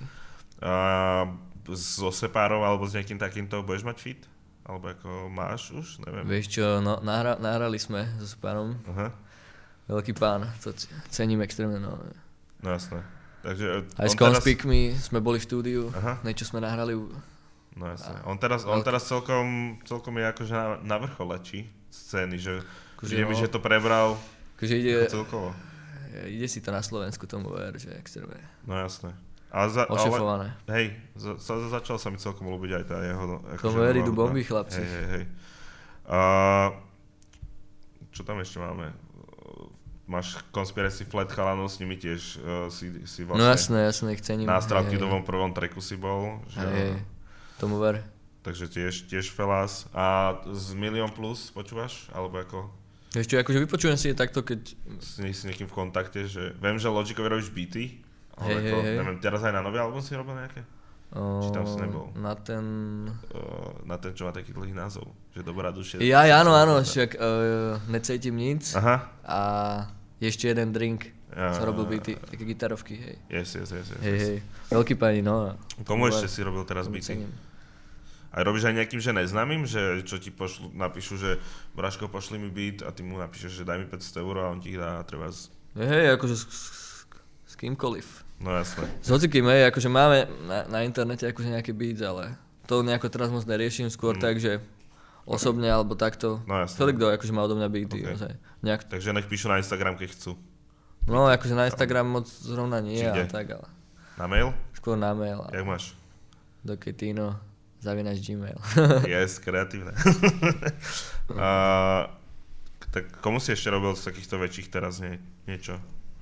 A so Sepárov alebo s nejakým takýmto budeš mať fit? Alebo ako máš už? Neviem. Vieš čo, no, nahra, nahrali sme so Sepárom. Aha. Veľký pán, to cením extrémne. No, no jasné. Takže aj s Conspic teraz... my sme boli v štúdiu, aha. niečo sme nahrali. No jasné. On teraz, on teraz celkom, celkom je akože na, na vrchole, či scény, že ide mi, no, že to prebral akože ide, celkovo. Ide si to na Slovensku tomu ver, že extrémne. No jasné. A za, ošefované. Ale, hej, za, za, začal sa mi celkom ľúbiť aj tá jeho... Tomu ver, idú bomby, chlapci. Hej, hej, hej. A, čo tam ešte máme? Máš Conspiracy Flat chalanov, s nimi tiež uh, si, si vlastne... No jasné, jasné, ich cením. Na Stratkidovom prvom tracku si bol. Že, hej, tomu ver. Takže tiež, tiež Felas. A z Milión plus počúvaš? Alebo ako? Ešte akože vypočujem si takto, keď... Si, si niekým v kontakte, že... Viem, že Logicovi robíš beaty. Ale hej, ako, hej, neviem, teraz aj na nový album si robil nejaké? O, či tam si nebol? Na ten... O, na ten, čo má taký dlhý názov. Že Dobrá duše. Ja, áno, áno, však uh, Necítim nic. Aha. A ešte jeden drink. Ja, som robil beaty, také gitarovky, hej. Yes, yes, yes, yes. Hej, hej. Veľký pani, no. Komu ešte si robil teraz beaty? A robíš aj nejakým, že neznámym, že čo ti pošlu, napíšu, že Braško, pošli mi beat a ty mu napíšeš, že daj mi päťsto eur a on ti ich dá treba z... Hej, hej, akože s, s, s kýmkoliv. No jasné. S hocikým, hej, akože máme na, na internete akože nejaké beats, ale to nejako teraz moc neriešim, skôr mm. tak, že osobne alebo takto. No jasné. Celý kto akože má odo mňa beaty. Okay. Nejak... Takže nech píšu na Instagram, keď chcú. No akože na Instagram moc zrovna nie, ale tak, ale... Na mail? Skôr na mail. Ale... Jak máš? Do Ketino, zavinač Gmail. Yes, kreatívne. uh, tak komu si ešte robil z takýchto väčších teraz nie, niečo?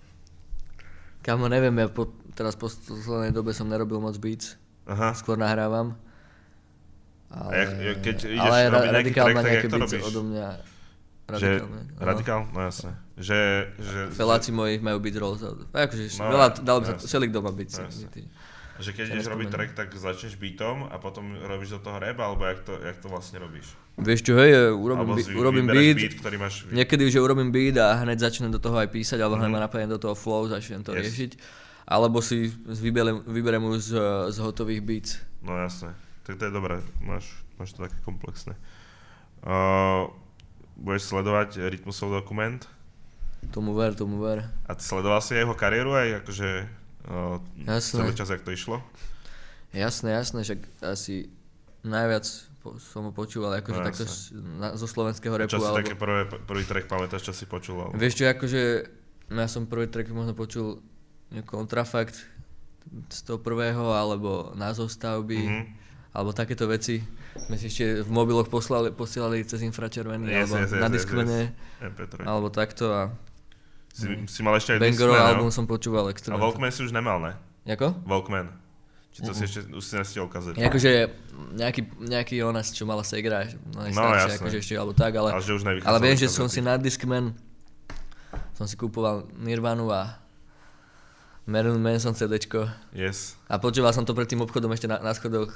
Kámo, neviem, ja po, teraz po poslednej dobe som nerobil moc beats. Aha. Skôr nahrávam. Ale, a jak, keď ideš ale robiť nejaký track, tak nejaké jak to beats robíš? odo mňa. Radikál, no. radikál? No jasné. Že, že, Feláci že... moji majú beat rolls. Akože no, veľa, dalo by sa, jasné. všelik doma beats. No, že keď ja ideš robiť track, tak začneš beatom a potom robíš do toho rap, alebo jak to, jak to vlastne robíš? Vieš čo, hej, urobím, zvi, urobím beat, beat, ktorý máš... Niekedy už urobím beat a hneď začnem do toho aj písať, alebo hneď mm. ma napadne do toho flow, začnem to yes. riešiť. Alebo si vyberem, vyberem už z, z hotových beats. No jasné, tak to je dobré, máš, máš to také komplexné. Uh, budeš sledovať Rytmusov dokument? Tomu ver, tomu ver. A ty sledoval si jeho kariéru aj akože uh, celý čas, jak to išlo? Jasné, jasné, však asi najviac po, som ho počúval akože no, takto na, zo slovenského rapu. A čo si alebo... také prvé, prvý track pamätáš, čo si počul? Alebo... Vieš čo, akože ja som prvý track možno počul Kontrafakt z toho prvého, alebo Názov stavby, mm-hmm. alebo takéto veci. My si ešte v mobiloch poslali, posielali cez infračervený, yes, alebo yes, yes, na Discmane, yes, yes. alebo takto a... Si, mm. si mal ešte aj Bangorov Discman, album som počúval extra. A Walkman si už nemal, ne? Jako? Walkman. Či to mm-hmm. si ešte, už si nestiel kazet. Akože nejaký, nejaký onas, čo mala Segra, no, no jasné. Akože ešte, alebo tak, ale... Ale, že už ale viem, že som si na Discman, som si kúpoval Nirvanu a Marilyn Manson CDčko. Yes. A počúval som to pred tým obchodom ešte na, na schodoch.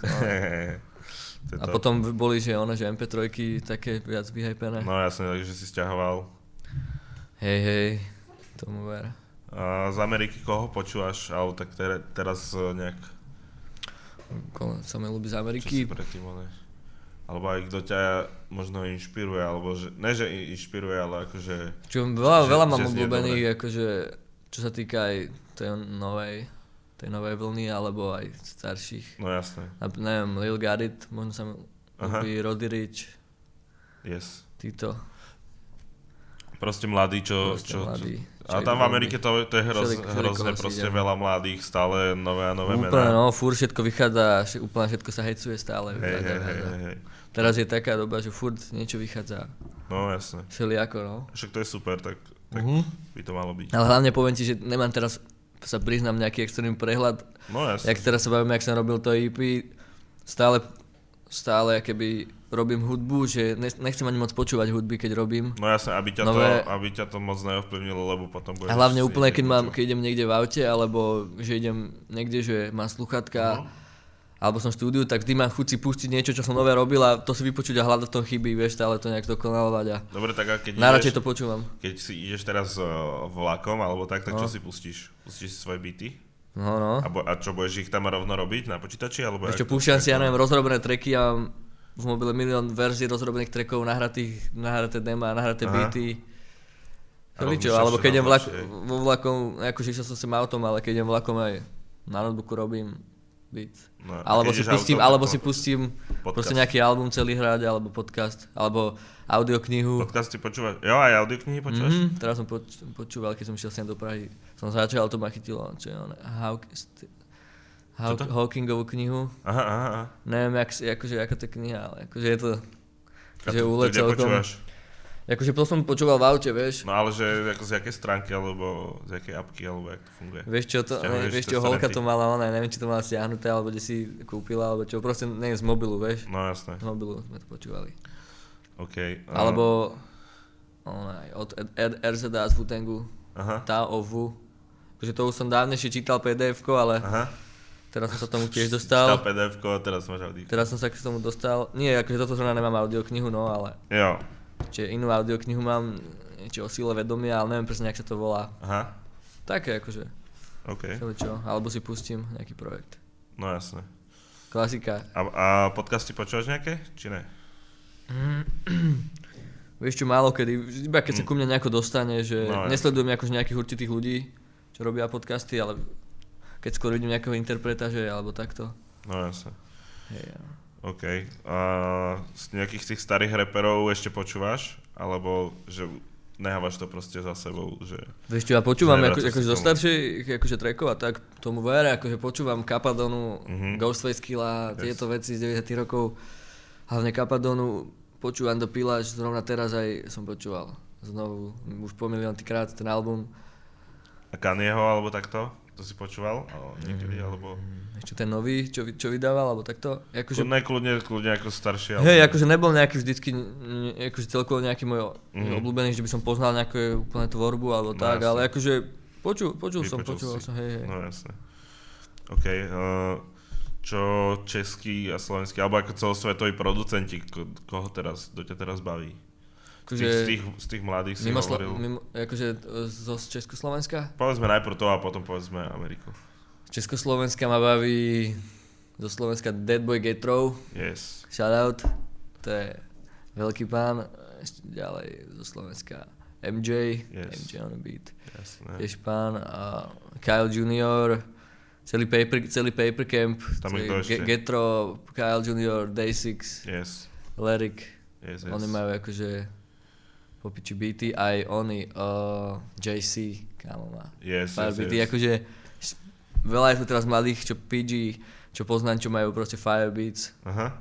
No. A potom boli, že ono, že em pé tri také viac vyhypené. No jasne, takže si sťahoval. Hej, hej, tomu ver. A z Ameriky koho počúvaš? Ale tak te, teraz nejak... Koho sa mi ľúbi z Ameriky? Čo si predtým hovoríš? Alebo aj kto ťa možno inšpiruje, alebo že... Ne, že inšpiruje, ale akože... Čo, veľa, že, veľa mám obľúbených, akože... Čo sa týka aj tej novej... tej novej vlny, alebo aj starších. No jasné. A, neviem, Lil Garit, možno sa mi ľúbi Roddy Ricch. Yes. Títo. Proste mladí, čo... Proste čo, mladí. Čo a tam v Amerike to, to je hroz, všelik, hrozne proste idem. Veľa mladých, stále nové a nové mená. Úplne, no, furt všetko vychádza, úplne všetko sa hecuje stále. Hej, hej, hej, hej. Teraz je taká doba, že furt niečo vychádza. No jasné. Všelijako, no. Však to je super, tak, tak uh-huh. by to malo byť. Ale hlavne poviem ti, že nemám teraz, sa priznám, nejaký extrémny prehľad. No jasné. Jak teraz sa bavím, jak som robil to é pé, stále, stále keby robím hudbu, že nechcem ani moc počúvať hudby, keď robím. No jasné, aby ťa, nové... to, aby ťa to moc neovplyvnilo, lebo potom budeš... A hlavne úplne, keď, mám, keď idem niekde v aute, alebo že idem niekde, že mám sluchatka, uh-huh. alebo som v štúdiu, tak vždy mám chuť si pustiť niečo, čo som nové robil a to si vypočuť a hľadať v tom chyby, vieš, stále to nejak dokonalovať a... Dobre, tak a keď najradšej ideš, to počúvam. Keď si ideš teraz uh, vlakom, alebo tak, tak no. čo si pustíš? Pustíš si svoje beaty? No, no. A, bo, a čo, budeš ich tam rovno robiť na počítači, alebo... Ešte púšťam si, ja neviem, rozrobené tracky a v mobile milión verzií rozrobených trackov, nahratých, nahraté dema, nahraté Aha. beaty. Čo, alebo keď idem vlak, vo vlakom, akože išiel som sem autom, ale keď idem vlakom aj na notebooku robím beat. No, alebo si pustím, autom, alebo si pustím proste nejaký album celý hrať, alebo podcast, alebo audioknihu. Podcasty počúvaš? Jo, aj audioknihy počúvaš? Mm-hmm, teraz som poč- počúval, keď som šiel sem do Prahy. Som začal, to ma chytilo, čo je ono, how... Haw- Hawkingovú knihu. Aha, aha, aha. Neviem, jak, akože, aká to je kniha, ale akože je to... A že to, to kde počúvaš? Akože to som počúval v aute, vieš. No ale že ako z jakej stránky, alebo z jakej apky, alebo jak to funguje? Vieš čo, to, ne, vieš čo, holka to mala, ona, neviem, či to mala stiahnuté, alebo kde si kúpila, alebo čo, proste nie z mobilu, vieš. No jasné. Z mobilu sme to počúvali. OK. Uh... Alebo ona, od er zet á z Wu-Tangu, tá o Wu. Akože to už som dávnejšie čítal pé dé efko, ale Aha. teraz som sa tomu tiež dostal. Čítal pé dé efko a teraz máš audio. Teraz som sa k tomu dostal, nie, akože toto zrovna nemám audioknihu, no ale... Jo. Čiže inú audioknihu mám, niečo o síle vedomia, ale neviem presne, jak sa to volá. Aha. Také akože. OK. Čo, alebo si pustím nejaký projekt. No jasné. Klasika. A, a podcasty počúvaš nejaké, či ne? Mm. Vieš čo, málo kedy, iba keď sa ku mne nejako dostane, že no, nesledujem akože nejakých určitých ľudí, čo robia podcasty, ale keď skôr vidím nejakého interpreta, že alebo takto. No jasné. Hej, ja. OK. A z nejakých tých starých reperov ešte počúvaš? Alebo že nehávaš to proste za sebou? Že vieš čo, ja počúvam ako, akože zo starších akože trackov a tak tomu vere, akože počúvam Kapadonu, uh-huh. Ghostface Killah, yes. Tieto veci z deväťdesiatych rokov. Hlavne Kapadonu počúvam do Pilač, zrovna teraz aj som počúval. Znovu, už po miliónty krát ten album. A Kanyeho alebo takto? To si počúval? O, niekedy, mm, alebo... Ešte ten nový, čo, čo vydával, alebo takto? Akože... Kľudne, kľudne, kľudne ako starší. Hej, alebo... akože nebol nejaký vždycky, akože celkovo nejaký môj mm. obľúbený, že by som poznal nejakú úplne tvorbu, alebo no, tak, jasne. Ale akože počul, počul som, počúval som, hej, hej. No jasne. OK. Uh, čo český a slovenský, alebo ako celosvetoví producenti, ko, koho teraz, kto ťa teraz baví? Z tých, z, tých, z tých mladých si mimo hovoril. Mimo, akože zo Československa? Povedzme najprv to a potom povedzme Ameriku. Československa ma baví zo Slovenska Dead Boy Getro. Yes. Shoutout. To je veľký pán. Ešte ďalej zo Slovenska em jé. Yes. em jé on the beat. Jasné. Tiež pán. A Kyle junior Celý paper, celý paper Camp. Tam je kto ešte? Getro, Kyle junior, Day six. Yes. Lyric. Yes, yes. Oni majú akože popiči beaty, aj oni, uh, jé cé, kámo má. Yes, fire yes, beaty, yes. akože veľa je tu teraz mladých, čo pé gé, čo poznám, čo majú proste fire beats. Aha.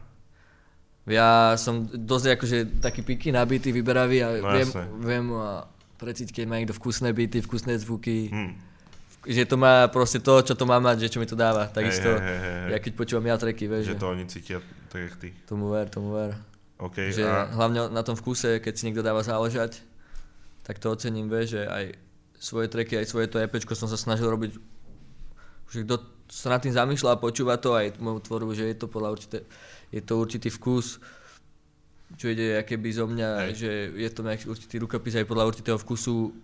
Ja som dosť akože taký piky na beaty vyberavý a no, viem, viem uh, precítiť, keď má niekto vkusné beaty, vkusné zvuky. Hmm. Že to má proste to, čo to má mať, že čo mi to dáva. Takisto, hey, hey, hey, hey. Ja keď počúvam ja tracky, vieš. Že to oni cítia tak, jak ty. Tomu ver, tomu ver. Okay, že a... hlavne na tom vkuse, keď si niekto dáva záležať, tak to ocením, vieš, že aj svoje tracky, aj svoje to EPčko som sa snažil robiť, že kto sa nad tým zamýšľa a počúva to, aj moju tvorbu, že je to podľa určité, je to určitý vkus, čo ide akéby zo mňa, hej. Že je to nejaký určitý rukopis aj podľa určitého vkusu,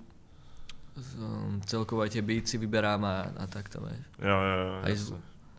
um, celkovo aj tie beatsy vyberám a, a takto, vieš. Jo, jo, jo, aj z...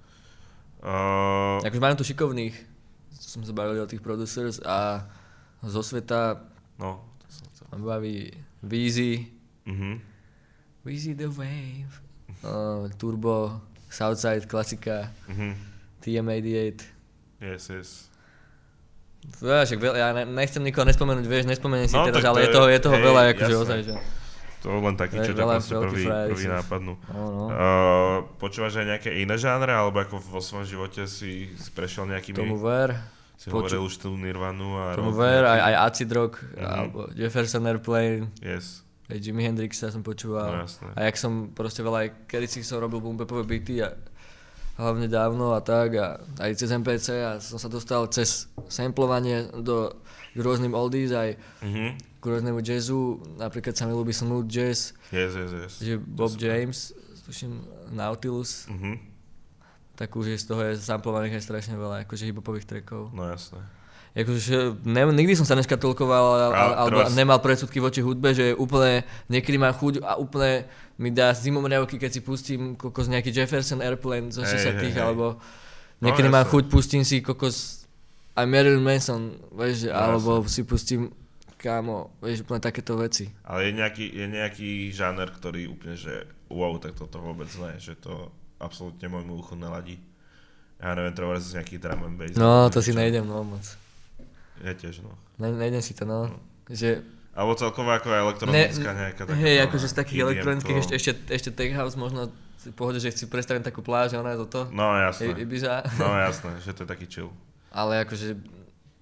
uh... akože mám tu šikovných, som sa bavil o tých producers a zo sveta no, ma baví Weezy, mm-hmm. Weezy the Wave, uh, Turbo, Southside, klasika, mm-hmm. té em osemdesiatosem. Yes, yes. Však veľa, ja nechcem nikoho nespomenúť, vieš, nespomeniem si no, teraz, ale je toho, je toho hej, veľa, akože jasné. ozaj, že... To len taký, čo ťa proste prvý, prvý nápadnú. No, no. Uh, počúvaš aj nejaké iné žánre, alebo ako vo svojom živote si prešiel nejakými... Tomu ver. Si Poču... hovoril už tú Nirvanu a... Tomu ver, aj, aj Acid Rock, mm-hmm. alebo Jefferson Airplane. Yes. Aj Jimi Hendrixa som počúval. No jasné. A jak som proste veľa, aj kedysi som robil boom-bapové beaty a hlavne dávno a tak a aj cez em pé cé a som sa dostal cez samplovanie do k rôznym oldies aj mm-hmm. k rôznemu jazzu, napríklad sa mi ľúbi smooth jazz. Yes, yes, yes. Že Bob yes, James, tuším Nautilus. Mhm. Tak už je z toho je samplovaných aj strašne veľa, akože hip-hopových trackov. No jasné. Akože ne, nikdy som sa neškatulkoval alebo nemal predsudky voči hudbe, že úplne niekedy mám chuť a úplne mi dá zimomriavky, keď si pustím kokos nejaký Jefferson Airplane zo šesťdesiatych hey, hey, alebo hey. Niekedy no, mám chuť, pustím si kokos aj Marilyn Manson, vieš, no, alebo jasne. Si pustím kámo, vieš, úplne takéto veci. Ale je nejaký, je nejaký žáner, ktorý úplne, že wow, tak toto vôbec ne, že to absolútne môjmu uchu neladí. Ja neviem, treba z nejakých drum and bass. No, to si nejdem, no moc. Ja tiež, no. Ne, nejdem si to, no. no. Že... Alebo celkovo ako elektronická ne, nejaká taká... Hej, akože z takých elektronických ešte, ešte, ešte Tech House možno v pohode, že si predstavím takú pláž, ona je toto. No jasné. Ibiza. No jasné, že to je taký chill. Ale akože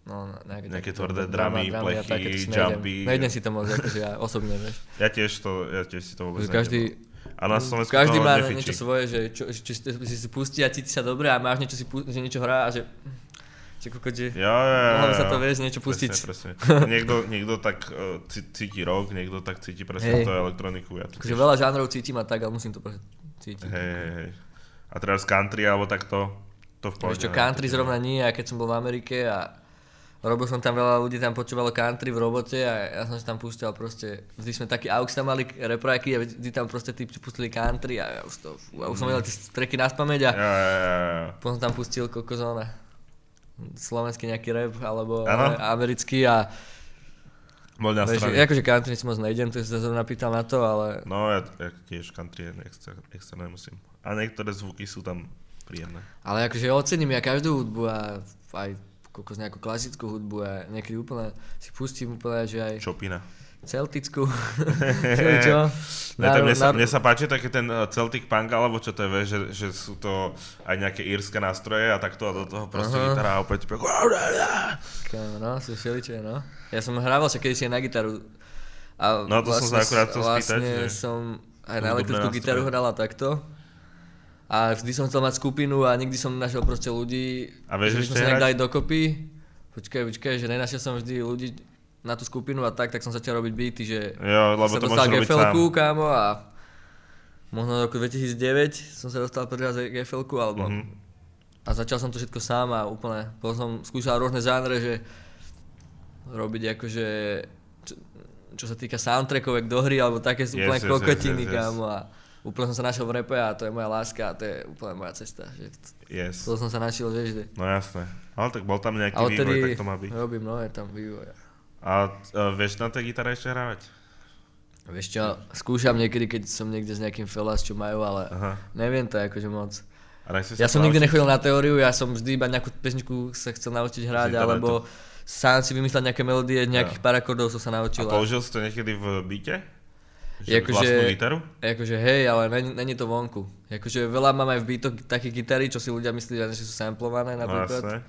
No, nejaké, nejaké tvrdé dramy, plechy, jumpy. Nejdem si to moc, akože ja osobne, vieš. Ja tiež to, ja tiež si to vôbec každý, a na Slovensku každý to má nefičí. Niečo svoje, že čo, čo, čo si, si pustí a cíti sa dobre a máš niečo, si pu- že niečo hrá a že... Že kokot, že ja, ja, ja, mohlo by sa to, vieš, niečo pustiť. Presne, presne. Niekto, niekto tak uh, cíti rock, niekto tak cíti presne hey. to elektroniku. Ja to akože veľa žánrov cítim a tak, ale musím to presne cítiť. Hej, hej, hej. A teraz country alebo takto, to v pohode. Vieš čo, country zrovna nie, a keď som bol v Amerike a robil som tam veľa ľudí, tam počúvalo country v robote a ja som si tam púšťal proste, vždy sme taký aux tam mali repraky a vždy tam proste typci pustili country a ja už to, ja už som vedel tie tracky naspamäť a ja, ja, ja, ja. potom tam pustil kokozóna. Slovenský nejaký rap, alebo ano? americký a... Bol na strane. Akože country si moc nejdem, to si sa zrovna pýtal na to, ale... No ja, ja tiež country extra, extra nemusím. A niektoré zvuky sú tam príjemné. Ale akože ocením ja každú hudbu a aj kokos nejakú klasickú hudbu a niekedy úplne si pustím úplne, že aj... Chopina. Celtickú. čo? Ne, mne, sa, mne sa páči taký ten Celtic punk, alebo čo to je, že, že sú to aj nejaké írske nástroje a takto a do toho proste uh-huh. gitara a opäť... No, sú všeličie, no. Ja som hrával sa kedysi na gitaru. A no to vlastne, som sa akurát chcel spýtať. Vlastne že... som aj na elektrickú gitaru hrala takto. A vždy som chcel mať skupinu a nikdy som našiel proste ľudí, a vieš, že sme sa nejak dali dokopy. Počkaj, počkaj, že nenašiel som vždy ľudí na tú skupinu a tak, tak som začal robiť beaty, že jo, lebo sa to dostal gé ef elku, kámo, a možno v roku dvetisícdeväť som sa dostal prvý raz gé ef elku, alebo mm-hmm. a začal som to všetko sám a úplne, potom som skúšal rôzne žánre, že robiť akože, čo, čo sa týka soundtrackovek do hry, alebo také sú úplne yes, kokotiny, yes, yes, kámo, a úplne som sa našiel v rape a to je moja láska a to je úplne moja cesta, že yes. to som sa našiel, vieš, že... No jasné, ale tak bol tam nejaký vývoj, tak to má byť. Robím, no, je tam vývoj. A uh, vieš na tej gitare ešte hrávať? Vieš čo, skúšam niekedy, keď som niekde s nejakým felas, čo majú, ale Aha. neviem to akože moc. Ja som nikdy nechodil na teóriu, ja som vždy iba nejakú pesničku sa chcel naučiť hrať, alebo sám si vymyslel nejaké melódie, nejakých ja. pár akordov som sa naučil. A použil si to niekedy v beate? Že vlastnú gitaru? Akože hej, ale není, není to vonku. Akože veľa mám aj v beatoch také gitary, čo si ľudia myslí, že sú samplované napríklad. No,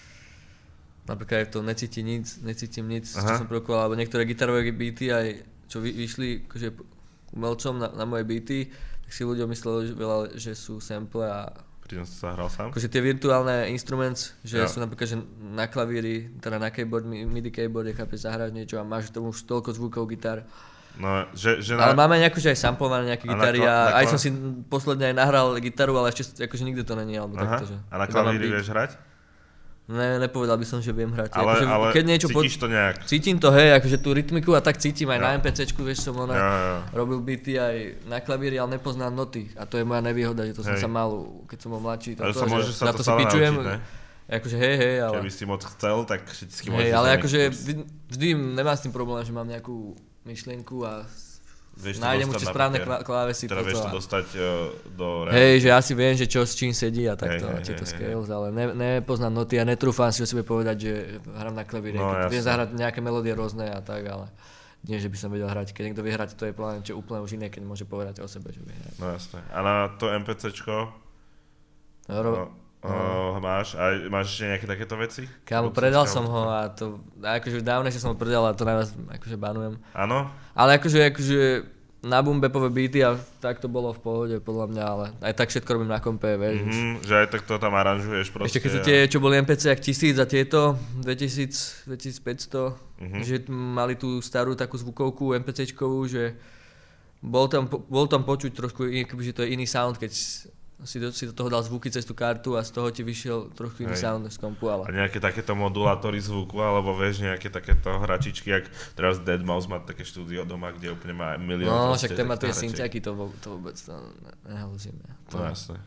napríklad to necíti nic, necítim nic, Aha. čo som produkoval, alebo niektoré gitarové beaty aj čo vy, vyšli akože umelcom na, na moje beaty, tak si ľudia mysleli že veľa, že sú sample a... Pritom si sa hral sám? Akože tie virtuálne instruments, že ja. sú napríklad že na klavíri, teda na keyboard, midi keyboard, chápeš, zahráš niečo a máš tomu už toľko zvukov gitar. No, že, že na... Ale máme nejakú, že aj samplované nejaké gitary a, a aj som si posledne aj nahral gitaru, ale ešte akože nikdy to není, alebo Aha. takto, že... A na klavíri vieš hrať? Ne, nepovedal by som, že viem hrať. Ale, akože, ale keď niečo cítiš po... to nejak? Cítim to, hej, akože tú rytmiku a tak cítim aj ja. na em pé céčku, vieš, som ona ja, ja. robil beaty aj na klavíri, ale nepoznám noty. A to je moja nevýhoda, že to hej. som sa mal, keď som bol mladší. Ale sa môže sa to, to stále naučiť, ne? Akože hej, hej, ale... Keby si moc chcel, tak všetky môžeš... Hej, ale akože vždy, vždy nemám s tým problém, že mám nejakú myšlienku a nájdem už správne klávesy. Teda vieš to dostať uh, do... Hej, že ja si viem, že čo s čím sedí a takto, hey, tieto hey, scales, hey. ale ne, nepoznám noty a netrúfam si o sebe povedať, že hrám na klavíre. No, viem zahrať nejaké melódie rôzne a tak, ale nie, že by som vedel hrať. Keď niekto vie hrať, to je plán, čo úplne už iné, keď môže povedať o sebe, že vie hrať. No jasné. A na to MPCčko? No, ro... no. máš, a máš ešte nejaké takéto veci? Kámo, predal som ho a to, akože dávne som ho predal a to najviac akože banujem. Áno? Ale akože, akože na boom-bapové beaty a tak to bolo v pohode podľa mňa, ale aj tak všetko robím na kompe, vieš. Mm-hmm, že aj tak to tam aranžuješ proste. Ešte keď sú tie, čo boli em pé cé, jak tisíc a tieto, dvetisíc, dvetisícpäťsto, mm-hmm. že mali tú starú takú zvukovku MPCčkovú, že bol tam, bol tam počuť trošku, že to je iný sound, keď si do, si do toho dal zvuky cez tú kartu a z toho ti vyšiel trošku iný Hej. sound z kompu, ale... A nejaké takéto modulátory zvuku, alebo vieš, nejaké takéto hračičky, jak teraz deadmau five má také štúdio doma, kde úplne má milión... No, však ten má tie synťaky, to, to vôbec to nehalúzime. To, no jasné.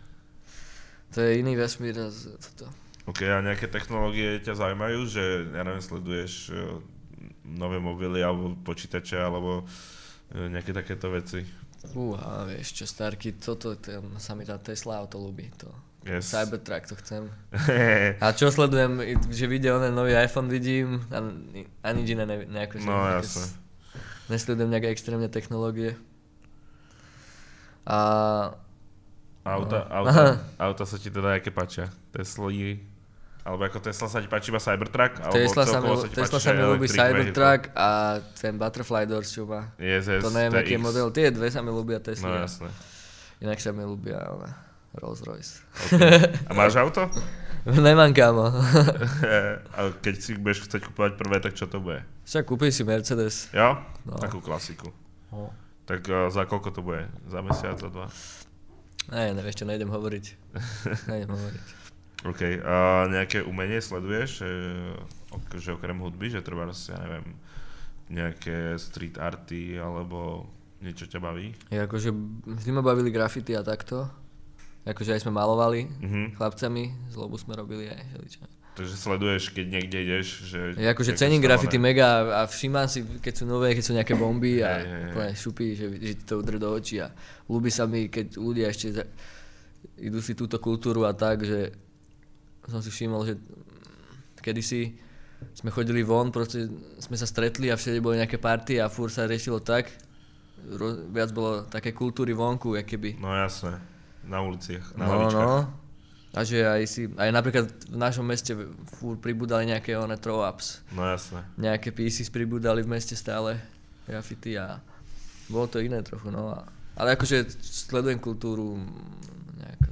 To je iný vesmír a toto. Ok, a nejaké technológie ťa zaujímajú, že, ja neviem, sleduješ nové mobily, alebo počítače, alebo nejaké takéto veci? Uha, vieš čo, Starky, toto, to, sa mi tá Tesla auto ľúbi, to yes. Cybertruck, to chcem. A čo sledujem, že video, onen nový iPhone vidím a, a nič iné ne, nejako, no jasne. Nesledujem nejaké extrémne technológie. A... Auta, no. auta, auta sa ti teda aké páčia? Tesly, Alebo ako Tesla sa ti páči iba Cybertruck? Tesla sa mi, sa Tesla sa mi ľúbi Cybertruck a ten Butterfly Doors, čo má. Yes, yes, to neviem, aký je model. Tie dve sa mi ľúbia Tesla. No jasné. Inak sa mi ľúbia ale Rolls Royce. Okay. A máš auto? Nemám, kámo. A keď si budeš chcieť kúpovať prvé, tak čo to bude? Však kúpim si Mercedes. Jo? No. Takú klasiku. No. Tak uh, za koľko to bude? Za mesiac, za dva? Ne, neviem, ešte nejdem hovoriť. Nejdem hovoriť. OK. A nejaké umenie sleduješ? Že, že okrem hudby, že treba, ja neviem, nejaké street arty alebo niečo ťa baví? Ja akože vždy ma bavili graffiti a takto. Akože aj sme malovali mm-hmm. chlapcami, zlobu sme robili aj želiča. Takže sleduješ, keď niekde ideš, že... Ja akože cením graffiti mega a všímam si, keď sú nové, keď sú nejaké bomby a hey, úplne hey. šupí, že, že ti to udre do očí a ľúbi sa mi, keď ľudia ešte za, idú si túto kultúru a tak, že som si všimol, že kedysi sme chodili von, proste sme sa stretli a všade boli nejaké party a furt sa riešilo tak, ro, viac bolo také kultúry vonku, keby. No jasné, na uliciach, na no, lavičkách. No. A že aj si, aj napríklad v našom meste furt pribúdali nejaké one throw-ups. No jasné. Nejaké pieces pribúdali v meste stále, graffiti a bolo to iné trochu, no. A, ale akože sledujem kultúru nejakú,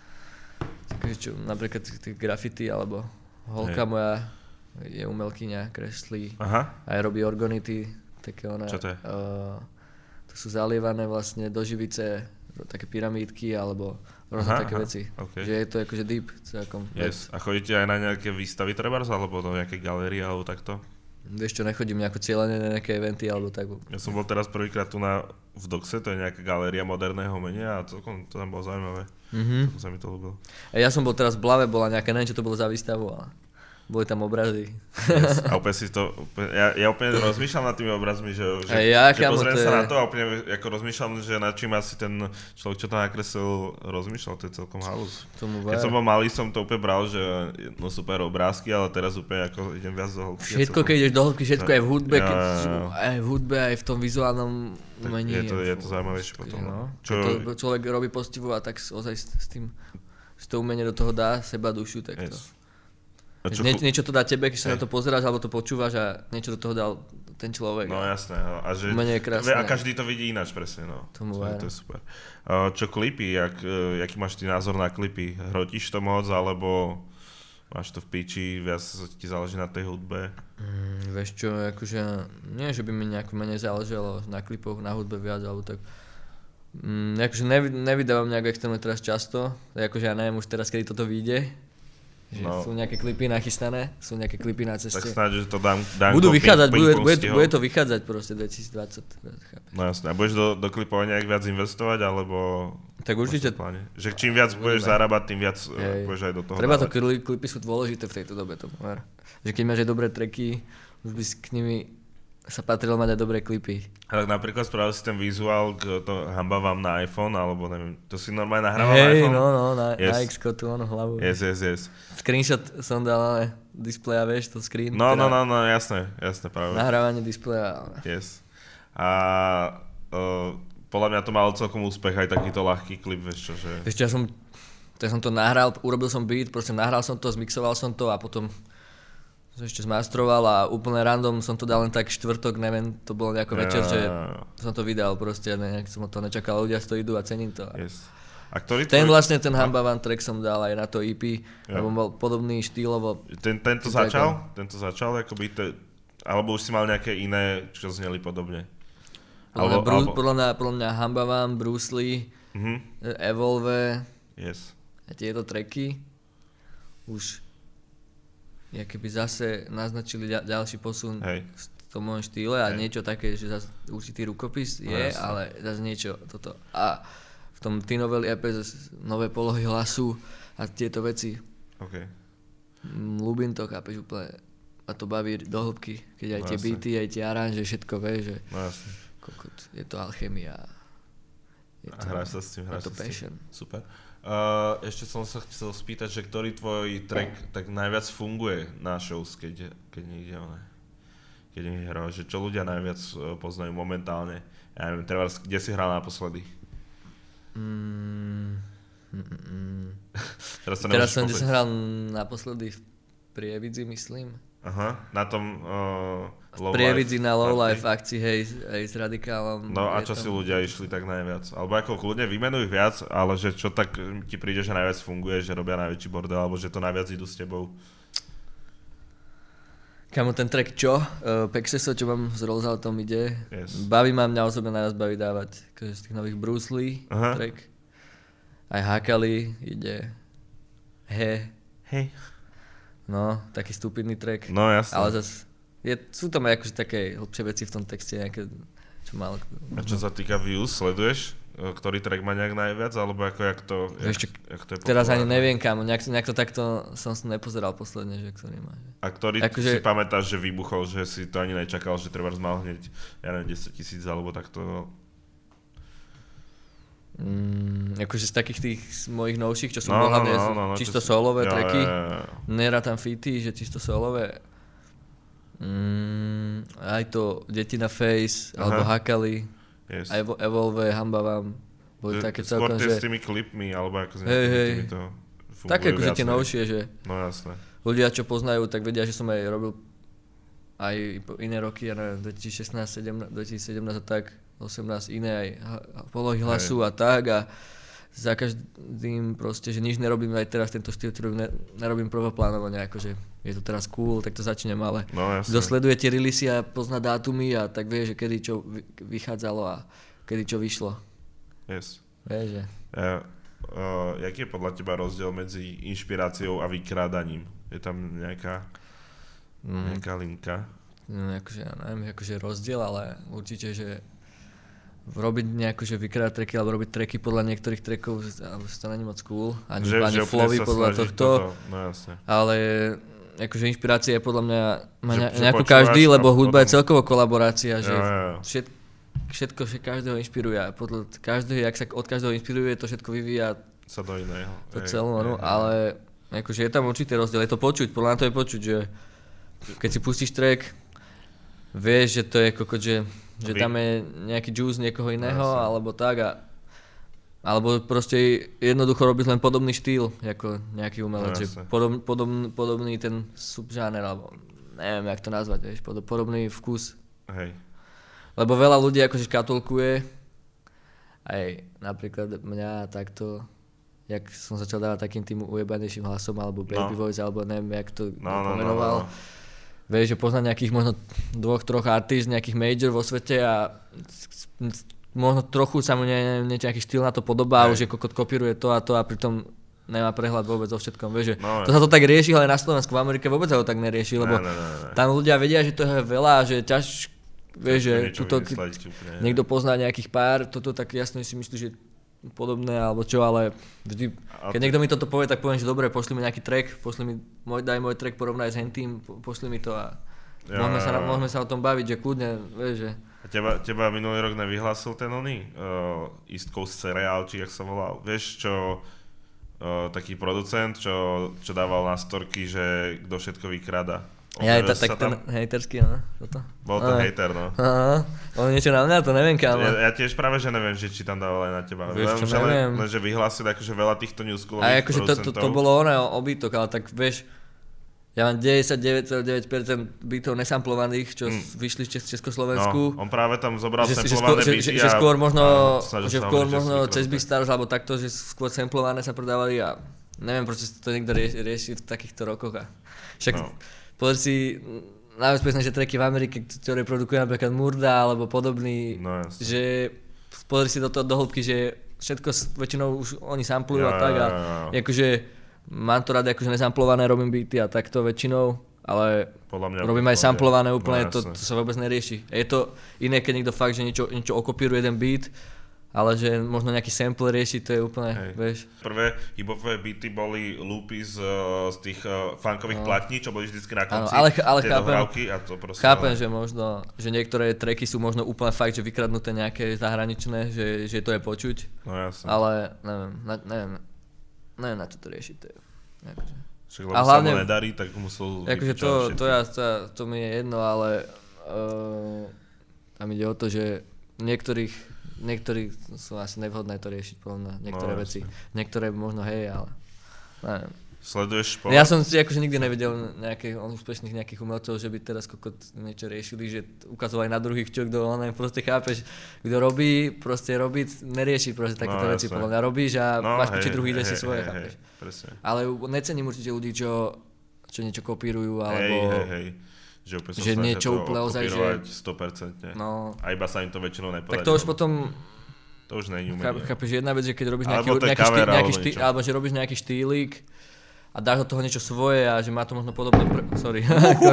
takže čo, napríklad tých graffiti, alebo holka Hej. moja je umelkyňa, kreslí, Aha. aj robí organity, také ona. Čo to je? Uh, to sú zalievané vlastne do živice, také pyramídky, alebo rôzne také aha, veci. Okay. Že je to akože deep celkom. Yes. A chodíte aj na nejaké výstavy trebárs, alebo do nejaké galérie, alebo takto? Vieš čo, nechodím nejako cieľene na nejaké eventy, alebo tak. Ja som bol teraz prvýkrát tu na, v Doxe, to je nejaká galéria moderného umenia a celkom to tam bolo zaujímavé. Mm-hmm. Celkom sa mi to ľúbilo. A ja som bol teraz v Blave, bola nejaká, neviem čo to bolo za výstavu, ale boli tam obrazy. Yes. A úplne si to, úplne, ja, ja úplne rozmýšľam nad tými obrazmi, že, že, ja, že pozriem to sa je... na to a úplne ako rozmýšľam, že nad čím asi ten človek, čo to nakreslil, rozmýšľal, to je celkom halus. Keď som bol malý, som to úplne bral, že no super obrázky, ale teraz úplne ako idem viac do hĺbky. Všetko, celkom... keď ideš do hĺbky, všetko no, aj v hudbe, ja, keď, ja, ja. aj v hudbe, aj v tom vizuálnom umení. Je to, je to zaujímavejšie potom. No. Čo... To človek robí postivu a tak ozaj s, s tým, že to umenie do toho dá seba dušu, tak to... Yes. Nie, niečo to dá tebe, keď sa na to pozeráš alebo to počúvaš a niečo do toho dal ten človek. No jasné. A, že, je krásne. A každý to vidí ináč presne. No. Tomu to, to je super. Uh, čo klipy, jak, uh, jaký máš ty názor na klipy? Hrotíš to moc alebo máš to v piči, viac ti záleží na tej hudbe? Mm, vieš čo, akože nie, že by mi nejako menej záležalo na klipoch, na hudbe viac alebo tak. Mm, akože nevy, nevydávam nejak extrémne teraz často, akože ja neviem už teraz, kedy toto vyjde. Že no. Sú nejaké klipy nachystané, sú nejaké klipy na ceste. Tak snáď, že to dám, dám budú vychádzať, bude, bude, bude to vychádzať proste dvetisícdvadsať. No jasné, a budeš do, do klipov nejak viac investovať, alebo... Tak určite... Že čím viac budeš zarábať, tým viac Hej. budeš aj do toho Treba dávať. to, klipy sú dôležité v tejto dobe, to ver. Že keď máš aj dobré tracky, už by si k nimi sa patrilo mať aj dobré klipy. Ale napríklad spravil si ten vizuál, k to hamba vám na iPhone, alebo neviem, to si normálne nahrával hey, na iPhone? no, no, na, yes. na X-ko tu ono hlavu. Yes, yes, yes. Screenshot som dal na displeja, vieš, to screen. No, teda no, no, no, jasné, jasné, práve. Nahrávanie displeja. Yes. A uh, podľa mňa to malo celkom úspech, aj takýto ľahký klip, vieš čo, že... Vieš čo, ja som, ja som to nahral, urobil som beat, proste nahral som to, zmixoval som to a potom som ešte zmastroval a úplne random som to dal len tak štvrtok, neviem, to bolo nejako ja, večer, že som to vydal proste, nejak som to nečakal, ľudia to idú a cením to. Yes. A ktorý ten tvoj... vlastne, ten Hamba Van track som dal aj na to í pé, ja. lebo bol podobný štýlovo. Ten, tento začal? Tento začal, akoby, te... alebo už si mal nejaké iné, čo zneli podobne? Podľa, alebo, Bru... alebo... podľa, mňa, podľa mňa Hamba Van, Bruce Lee, uh-huh. Evolve yes. a tieto tracky už ja keby zase naznačili ďal, ďalší posun Hej. v tom môjom štýle a Hej. niečo také, že zase určitý rukopis je, no, ale zase niečo toto. A v tom T-Novel é pé zase nové polohy hlasu a tieto veci. Okay. Ľúbim to, chápeš úplne. A to baví do hĺbky, keď aj no, tie jasne. beaty, aj tie aranže, všetko vie, že no, jasne. kokot, je to alchemia. Je to, a hráš sa s tým, hráš sa s tým. Super. Uh, ešte som sa chcel spýtať, že ktorý tvoj track tak najviac funguje na shows, keď, keď niekde one, keď niekde hral, že čo ľudia najviac poznajú momentálne. Ja neviem, treba, kde si hral naposledy? Mm, mm, mm. Teraz, Teraz som, kde som hral naposledy v Prievidzi, myslím. Aha, na tom uh, Low Prievidzi na Low Life akcii, hej, hej, s Radikálom. No a čo tam... si ľudia išli tak najviac? Alebo ako kľudne vymenuj viac, ale že čo tak ti príde, že najviac funguje, že robia najväčší bordel, alebo že to najviac idú s tebou? Kamo, ten track čo? Uh, Pexeso, čo mám s Rolloutom ide. Yes. Baví ma, mňa osobne najviac baví dávať akože z tých nových Bruce Lee Aha. track. Aj Hakali ide. He. Hej. No, taký stupidný track. No jasne. Ale zase, je, sú tam aj akože také hlbšie veci v tom texte, nejaké, čo málo... A čo sa týka views, sleduješ? Ktorý track má nejak najviac, alebo ako, jak to, jak, Ešte, jak to je teraz ani neviem, kámo, nejak, nejak to takto som sa nepozeral posledne, že ktorý má. Že... A ktorý akože... si pamätáš, že vybuchol, že si to ani nečakal, že treba mal hneď, ja neviem, desať tisíc, alebo takto... Mm, akože z takých tých mojich novších, čo sú no, hlavne no, no, no, čisto si... solové jo, tracky, jo, jo. nerátam featy, že čisto solové. Mm, aj to Deti na Face, Aha. alebo Hakali, yes. aj Evolve, Hamba vám, boli že, také celkom, že... s tými klipmi, alebo ako s hey, hey. tými to funguje také akože tie novšie, že no, jasné. Ľudia, čo poznajú, tak vedia, že som aj robil aj iné roky, ja neviem, dvetisícšestnásť, dvetisícsedemnásť a tak, osemnásť iné aj polohy hlasu Hej. a tak a za každým proste, že nič nerobím aj teraz tento štýl, ktorý ne, nerobím prvoplánovo nejako, že je to teraz cool, tak to začnem, ale no, kto sleduje tie releasy a pozná dátumy a tak vie, že kedy čo vychádzalo a kedy čo vyšlo. Yes. Vieš, že... Ja, uh, jaký je podľa teba rozdiel medzi inšpiráciou a vykrádaním? Je tam nejaká, mm. nejaká linka? No, akože, ja neviem, akože rozdiel, ale určite, že robiť nejakú, že vykrádať tracky alebo robiť tracky podľa niektorých trackov, alebo to není moc cool, ani, že, ani že flowy podľa tohto, toto. No, jasne. Ale akože inšpirácia je podľa mňa má že, nejakú že každý, lebo hudba potom... je celkovo kolaborácia, že jo, jo. Všet, všetko, že každého inšpiruje a podľa každého, jak sa od každého inšpiruje, to všetko vyvíja sa do iného. To celé, no, ale akože je tam určitý rozdiel, je to počuť, podľa mňa to je počuť, že keď si pustíš track, vieš, že to je kokot, že že tam je nejaký juice niekoho iného, no, alebo tak a alebo proste jednoducho robíš len podobný štýl, ako nejaký umelec, no, že podob, podob, podobný ten subžáner, alebo neviem, jak to nazvať, vieš, podobný vkus. Hej. Lebo veľa ľudí akože škatulkuje, aj napríklad mňa takto, jak som začal dávať takým tým ujebanejším hlasom, alebo baby no. voice, alebo neviem, jak to no, pomenoval. No, no, no. Vieš, že poznať nejakých možno dvoch, troch artist, nejakých major vo svete a možno trochu sa mu ne, ne, nejaký štýl na to podobá, už je kokot kopíruje to a to a pritom nemá prehľad vôbec o všetkom, vieš, že no, to sa to tak rieši, ale na Slovensku, v Amerike vôbec sa to tak nerieši, lebo ne, ne, ne. tam ľudia vedia, že to je veľa, že ťaž, vieš, že tuto, niekto pozná nejakých pár, toto tak jasne si myslí, že podobné alebo čo, ale vždy, keď niekto mi toto povie, tak poviem, že dobre, pošli mi nejaký track, pošli mi, môj, daj môj track, porovnaj s hentým, pošli mi to a ja, môžeme, sa, môžeme sa o tom baviť, že kľudne, vieš, že... A teba, teba minulý rok nevyhlásil ten oný uh, East Coast Cereal, či jak sa volal, vieš, čo uh, taký producent, čo, čo dával na storky, že kto všetko vykráda. Ja aj tak ten hejterský, no, toto. Bol to no. hejter, no. Aha, on niečo na mňa, to neviem, kámo. Ja, ja tiež práve, že neviem, že či tam dával aj na teba. Vieš, čo len, neviem. Len, že vyhlásil akože veľa týchto newschoolových a akože to, to, to bolo ono, obytok, ale tak vieš, ja mám deväťdesiatdeväť celá deväť percent bytov nesamplovaných, čo mm. vyšli z Československu. No, on práve tam zobral že, samplované že, byty že, že, že skôr možno, a že skôr možno cez Beatstars, alebo takto, že skôr samplované sa predávali a neviem, prečo to niekto rieši, rieši v takýchto rokoch. A však no. Pozri si, najbezpečnejšie tracky v Amerike, ktoré produkuje napríklad Murda alebo podobný, no, že pozri si do toho do hĺbky, že všetko väčšinou už oni samplujú ja, a tak a ja, ja. akože mám to rád akože nesamplované, robím beaty a takto väčšinou, ale robím aj samplované úplne, no, to, to sa vôbec nerieši. Je to iné, keď niekto fakt, že niečo, niečo okopíruje jeden beat, ale že možno nejaký sample rieši, to je úplne, hej. Vieš. Prvé hip-hopové beaty boli loopy z, z tých uh, funkových no. platní, čo boli vždycky na konci, ano, ale, ale tie chápem, dohrávky a to proste... Chápem, ale... že možno, že niektoré tracky sú možno úplne fakt, že vykradnuté nejaké zahraničné, že, že to je počuť, no, jasne. Ale neviem, na, neviem, neviem na čo to riešiť, to je, akože. Však lebo sa mu nedarí, tak musel... Akože to, to, ja, to, to mi je jedno, ale uh, tam ide o to, že niektorých Niektorí sú asi nevhodné to riešiť, podľa mňa, niektoré no, veci. Niektoré možno hej, ale neviem. Sleduješ šport? Ja som si akože nikdy nevidel nejakých úspešných nejakých umelcov, že by teraz kokot niečo riešili, že ukazovali na druhých, čo kto on proste chápeš, kto robí, proste robí, nerieši proste takéto no, veci, podľa mňa robíš a no, máš hej, piči druhý, ide si hej, svoje, hej, chápeš. Hej, ale necením určite ľudí, čo, čo niečo kopírujú, alebo hej, hej, hej. Že, že niečo úplne ozaj, že sto percent. No. A iba sa im to väčšinou nepodarí. Tak to už potom to už nie je umenie. Chápeš, jedna vec, že keď robíš nejaký, nejaký, štý, nejaký štý, alebo že robíš nejaký štýlik a dáš do toho niečo svoje a že má to možno podobné prv... sorry.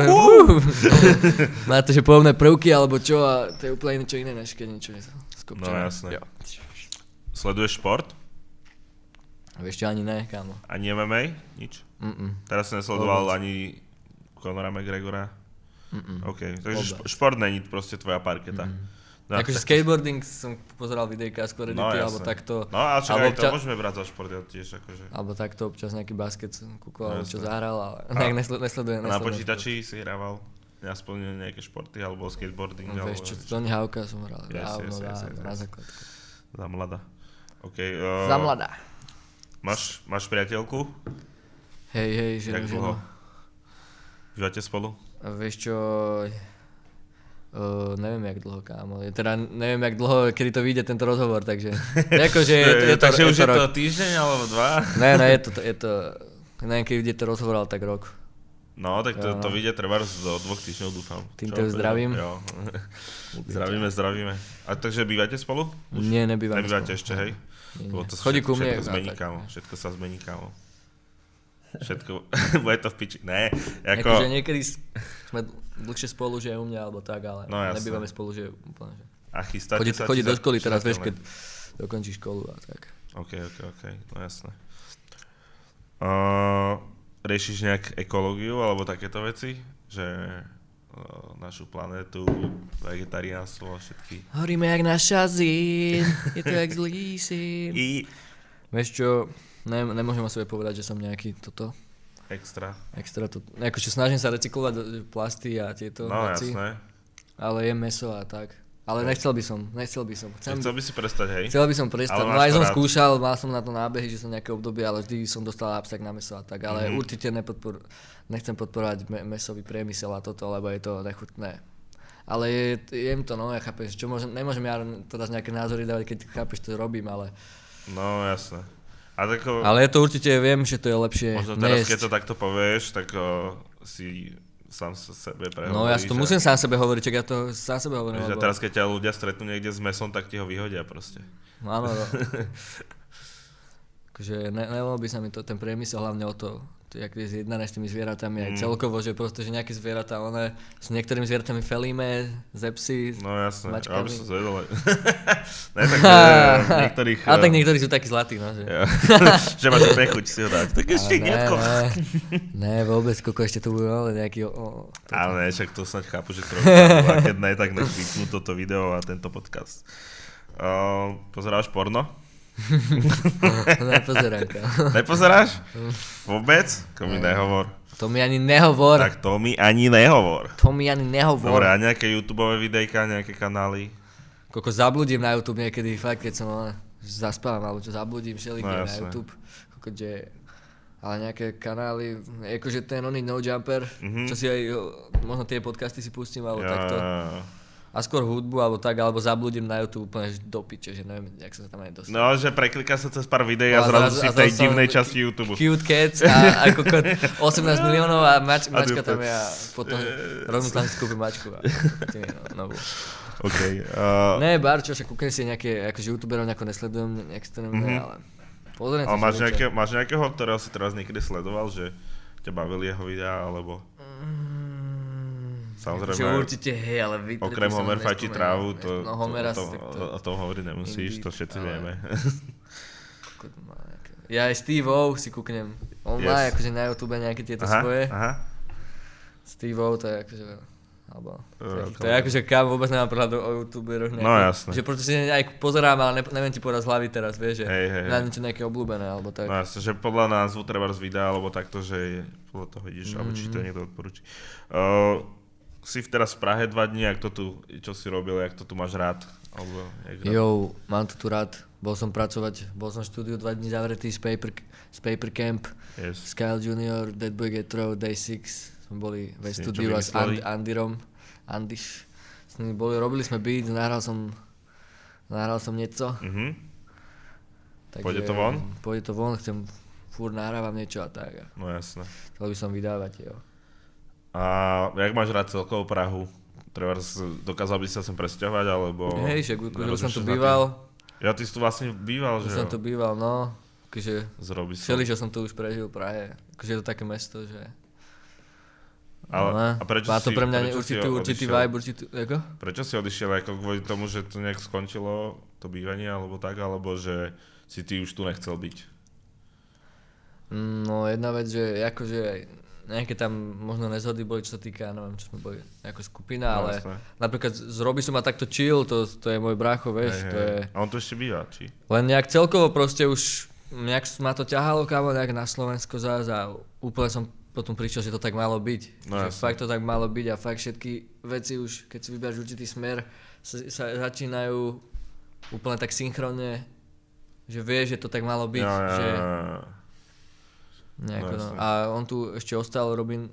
má to že podobné prvky alebo čo a to je úplne niečo iné, než keď niečo je skopčené. No jasné. Jo. Sleduješ šport? Vieš čo, ani ne, kámo. Ani em em á? Nič? Mm-mm. Teraz si nesledoval ani Conora McGregora? Mm-mm. OK, takže šp- šport není proste tvoja parketa. Mm. No, akože tak... skateboarding som pozeral videjka skôr edity, no, alebo takto. No ale čo aj občas... to môžeme brať za šport, ja tiež akože. Alebo takto občas nejaký basket som kúkol, no, alebo čo zahral, ale nejak nesledujem. nesledujem na počítači šport. Si hrával aspoň nejaké športy, alebo skateboarding? No, vieš čo, Tony Hawka som hral, yes, dávno, yes, yes, dávno, yes, na yes. základku. Za mladá. OK. Uh, za mladá. Máš, máš priateľku? Hej, hej, ženu, Jak ženu. Bývate spolu? A vieš čo... Uh, neviem jak dlho, kámo. Teda neviem jak dlho, kedy to vyjde tento rozhovor, takže... Akože je, je, je to, takže je už to je rok. to týždeň alebo dva? Ne, ne, je to, je to... Neviem, keď vyjde to rozhovor, ale tak rok. No, tak to, to vyjde treba do dvoch týždňov, dúfam. Týmto ju zdravím. Jo. zdravíme, zdravíme. A takže bývate spolu? Už Nie, nebývame Nebývate spolu. ešte, hej? Nie, nie. To Chodí ku mne. Všetko zmení, kámo. Všetko sa zmení, kámo. Všetko, bude to v piči. Ne, ako... Akože niekedy sme dlhšie spolu, že je u mňa, alebo tak, ale no, nebývame spolu, že je úplne, že... A chystáte chodí, sa? Chodí do školy teraz, vieš, len... keď dokončí školu a tak. OK, OK, OK, no jasné. Uh, riešiš nejak ekológiu, alebo takéto veci? Že uh, našu planétu, vegetariánstvo a všetky... Horíme jak na šazín, je to jak zlý syn. I... Vieš čo... Ne, nemôžem o sebe povedať, že som nejaký toto... Extra. Extra to... Akože snažím sa recyklovať plasty a tieto no, veci. No jasné. Ale jem mäso a tak. Ale no. nechcel by som, nechcel by som. Chcem... Chcel by si prestať, hej? Chcel by som prestať. No aj som rád. skúšal, mal som na to nábehy, že som nejaké obdobie, ale vždy som dostal abstak na mäso a tak. Ale mm-hmm. určite nepodpor... nechcem podporovať me- mäsový priemysel a toto, lebo je to nechutné. Ale je, jem to, no, ja chápeš, čo môžem, nemôžem ja teraz nejaké názory dávať, keď chápeš, to robím, ale... No, jasné. A tako, ale je to určite, viem, že to je lepšie možno teraz, nejesť. keď to takto povieš, tak o, si sám sa sebe prehovoríš. No ja to že... musím sám sebe hovoriť, čak ja to sám sebe hovorím. Že lebo... teraz, keď ťa ľudia stretnú niekde s mesom, tak ti ho vyhodia proste. No áno, no. akože ne, nevolo by sa mi to, ten priemysel hlavne o to, to jak je zjednané s tými zvieratami, mm. aj celkovo, že proste, že nejaké zvieratá, one s niektorými zvieratami felíme, zepsy, no jasné, mačkami. ja by som zvedol. Ne, tak že niektorých... Ale tak niektorí sú takí zlatí, no. Že, že máš nechuť si ho dať, tak ešte hnedko. Ne, ne, vôbec, koľko ešte to bude, ale nejaký... O, ale ne, však to snad chápu, že to robí, a keď ne, tak nech vypnú toto video a tento podcast. Uh, pozeráš porno? Nepozerám. Nepozeráš? Vôbec? To mi nehovor. To mi ani nehovor. Tak to mi ani nehovor. To mi ani nehovor. Dobre, a nejaké YouTubeové videjka, nejaké kanály? Koľko zabludím na YouTube niekedy, fakt, keď som zaspávam, alebo čo zabludím všelikde no, na YouTube. Koľko, že... Ale nejaké kanály, akože ten oný No Jumper, mm-hmm. čo si aj, možno tie podcasty si pustím, alebo ja, takto. A skôr hudbu, alebo tak, alebo zabludím na YouTube úplne do piče, že neviem, jak sa tam aj dostal. No, že prekliká sa cez pár videí a, a zrazu si v tej divnej časti YouTube. Cute Cats a ako osemnásť miliónov a mač, mačka tam je a potom rovnú tam si kúpim mačku a novú. OK. Uh... Ne, bar, čo, však kúknem si nejaké, akože youtuberov nejako nesledujem extrémne, mm-hmm. ale pozriem ale si máš, nejaké, máš nejakého, ktorého si teraz niekedy sledoval, že ťa bavili jeho videá, alebo... Mm. Samozrejme, že určite, hej, ale vy... Okrem Homer fajčí trávu, to, no, Homera, to, to, to, o tom hovoriť nemusíš, to všetci ale... vieme. Ja aj Steve-O si kúknem. On yes. má akože na YouTube nejaké tieto aha, svoje. Aha. Steve-O to je akože... Alebo, to, je, to je akože kam vôbec nemám prehľad o YouTuberoch nejaké. No jasne. Že pretože aj pozerám, ale ne, neviem ti povedať z hlavy teraz, vieš, že hej, hej, na niečo nejaké obľúbené, alebo tak. No jasne, že podľa názvu treba z videa, alebo takto, že podľa toho ideš, mm-hmm. alebo či to niekto odporúči. Uh, si teraz v Prahe dva dní, jak to tu, čo si robil, jak to tu máš rád? Alebo, jak rád? Jo, mám to tu rád. Bol som pracovať, bol som v štúdiu dva dní zavretý z Paper, z paper Camp, yes. Skyle junior, Dead Boy Get Throw, Day six. Sme boli ve štúdiu a s And, Andyrom, Andyš. S nimi boli, robili sme beat, nahral som, nahral som niečo. Mm-hmm. Takže, pôjde to von? Pôjde to von, chcem, furt nahrávam niečo a tak. No jasné. Chcel by som vydávať, jo. A jak máš rád celkovo Prahu? Trebárs, dokázal by si sa sem presťahovať, alebo... Hej, však už som tu býval. Ja, ty si tu vlastne býval, že jo? som tu býval, no. Akože, všeli, že som tu už prežil v Prahe. Akože je to také mesto, že... Ale, no, a prečo má to si, pre mňa prečo určitý, určitý vibe, určitý... Ako? Prečo si odišiel? Ako kvôli tomu, že to nejak skončilo, to bývanie, alebo tak? Alebo že si ty už tu nechcel byť? No jedna vec, že akože... Nejaké tam možno nezhody boli, čo sa týka, neviem, čo sme boli ako skupina, no, ale jasné. Napríklad z Roby som ma takto chill, to, to je môj brácho, vieš, hej, to hej. je... A on tu ešte býva, či? Len nejak celkovo proste už, nejak ma to ťahalo kámo nejak na Slovensko zás a úplne som potom prišiel, že to tak malo byť. No, že fakt to tak malo byť a fakt všetky veci už, keď si vyberáš určitý smer, sa, sa začínajú úplne tak synchronne, že vieš, že to tak malo byť, ja, ja, že... ja. Nejako, no, no. A on tu ešte ostal, Robin,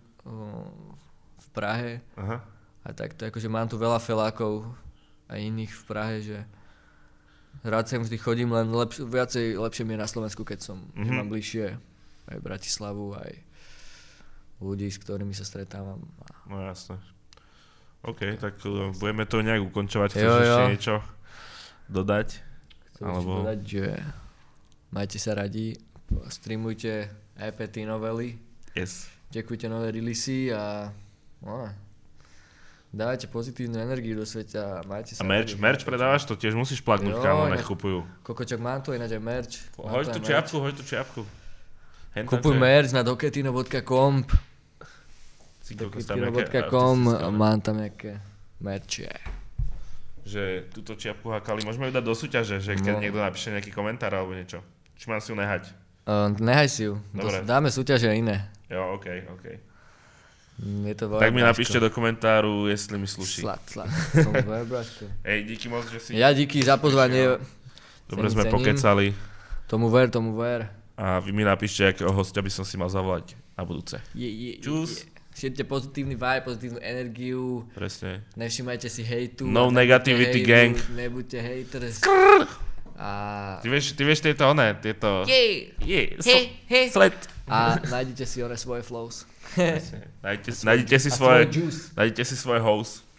v Prahe. Aha. A tak to akože mám tu veľa felákov a iných v Prahe, že rád sem vždy chodím, len lepš- viacej lepšie mi je na Slovensku, keď som mm-hmm. mám bližšie aj Bratislavu, aj ľudí, s ktorými sa stretávam. No jasné. OK, tak uh, budeme to nejak ukončovať. Chceš jo, jo. ešte niečo dodať? Chcem Alebo... dodať, že majte sa radi, streamujte é pé té novely, yes. Čekujte nové releasy a no, dávajte pozitívnu energiu do sveta a majte sa. A merch, merch predávaš? To tiež musíš plaknúť, kámo, nech kupujú. Kokočok, mám tu ináč aj merch. Hoď tú čiapku, hoď tú čiapku. Kupuj merch na doketino bodka com doketino bodka com mám tam nejaké merče. Že túto čiapku hakali, môžeme ju dať do súťaže, že keď no. niekto napíše nejaký komentár alebo niečo. Či mám si ju nehať? Uh, nehaj si ju. Dobre. Dáme súťaže iné. Jo, okej, okay, okej. Okay. Je to tak mi napíšte do komentáru, jestli mi sluší. Slat, slat. Som dvojebráško. Ej, díky moc, že si... Ja díky za pozvanie. Dobre sme pokecali. Tomu ver, tomu ver. A vy mi napíšte, akého hostia by som si mal zavolať na budúce. Je, je, Čus. Je. Šírte pozitívny vibe, pozitívnu energiu. Presne. Nevšimajte si hejtu. No negativity gang. Nebuďte haters. Skrrr. A... Ty vieš, ty vieš tieto oné, tieto... Yeah. Yeah. Hey, hey. Sled. A nájdete si one svoje flows. nájdete, nájdete si svoje, nájdete si svoje house.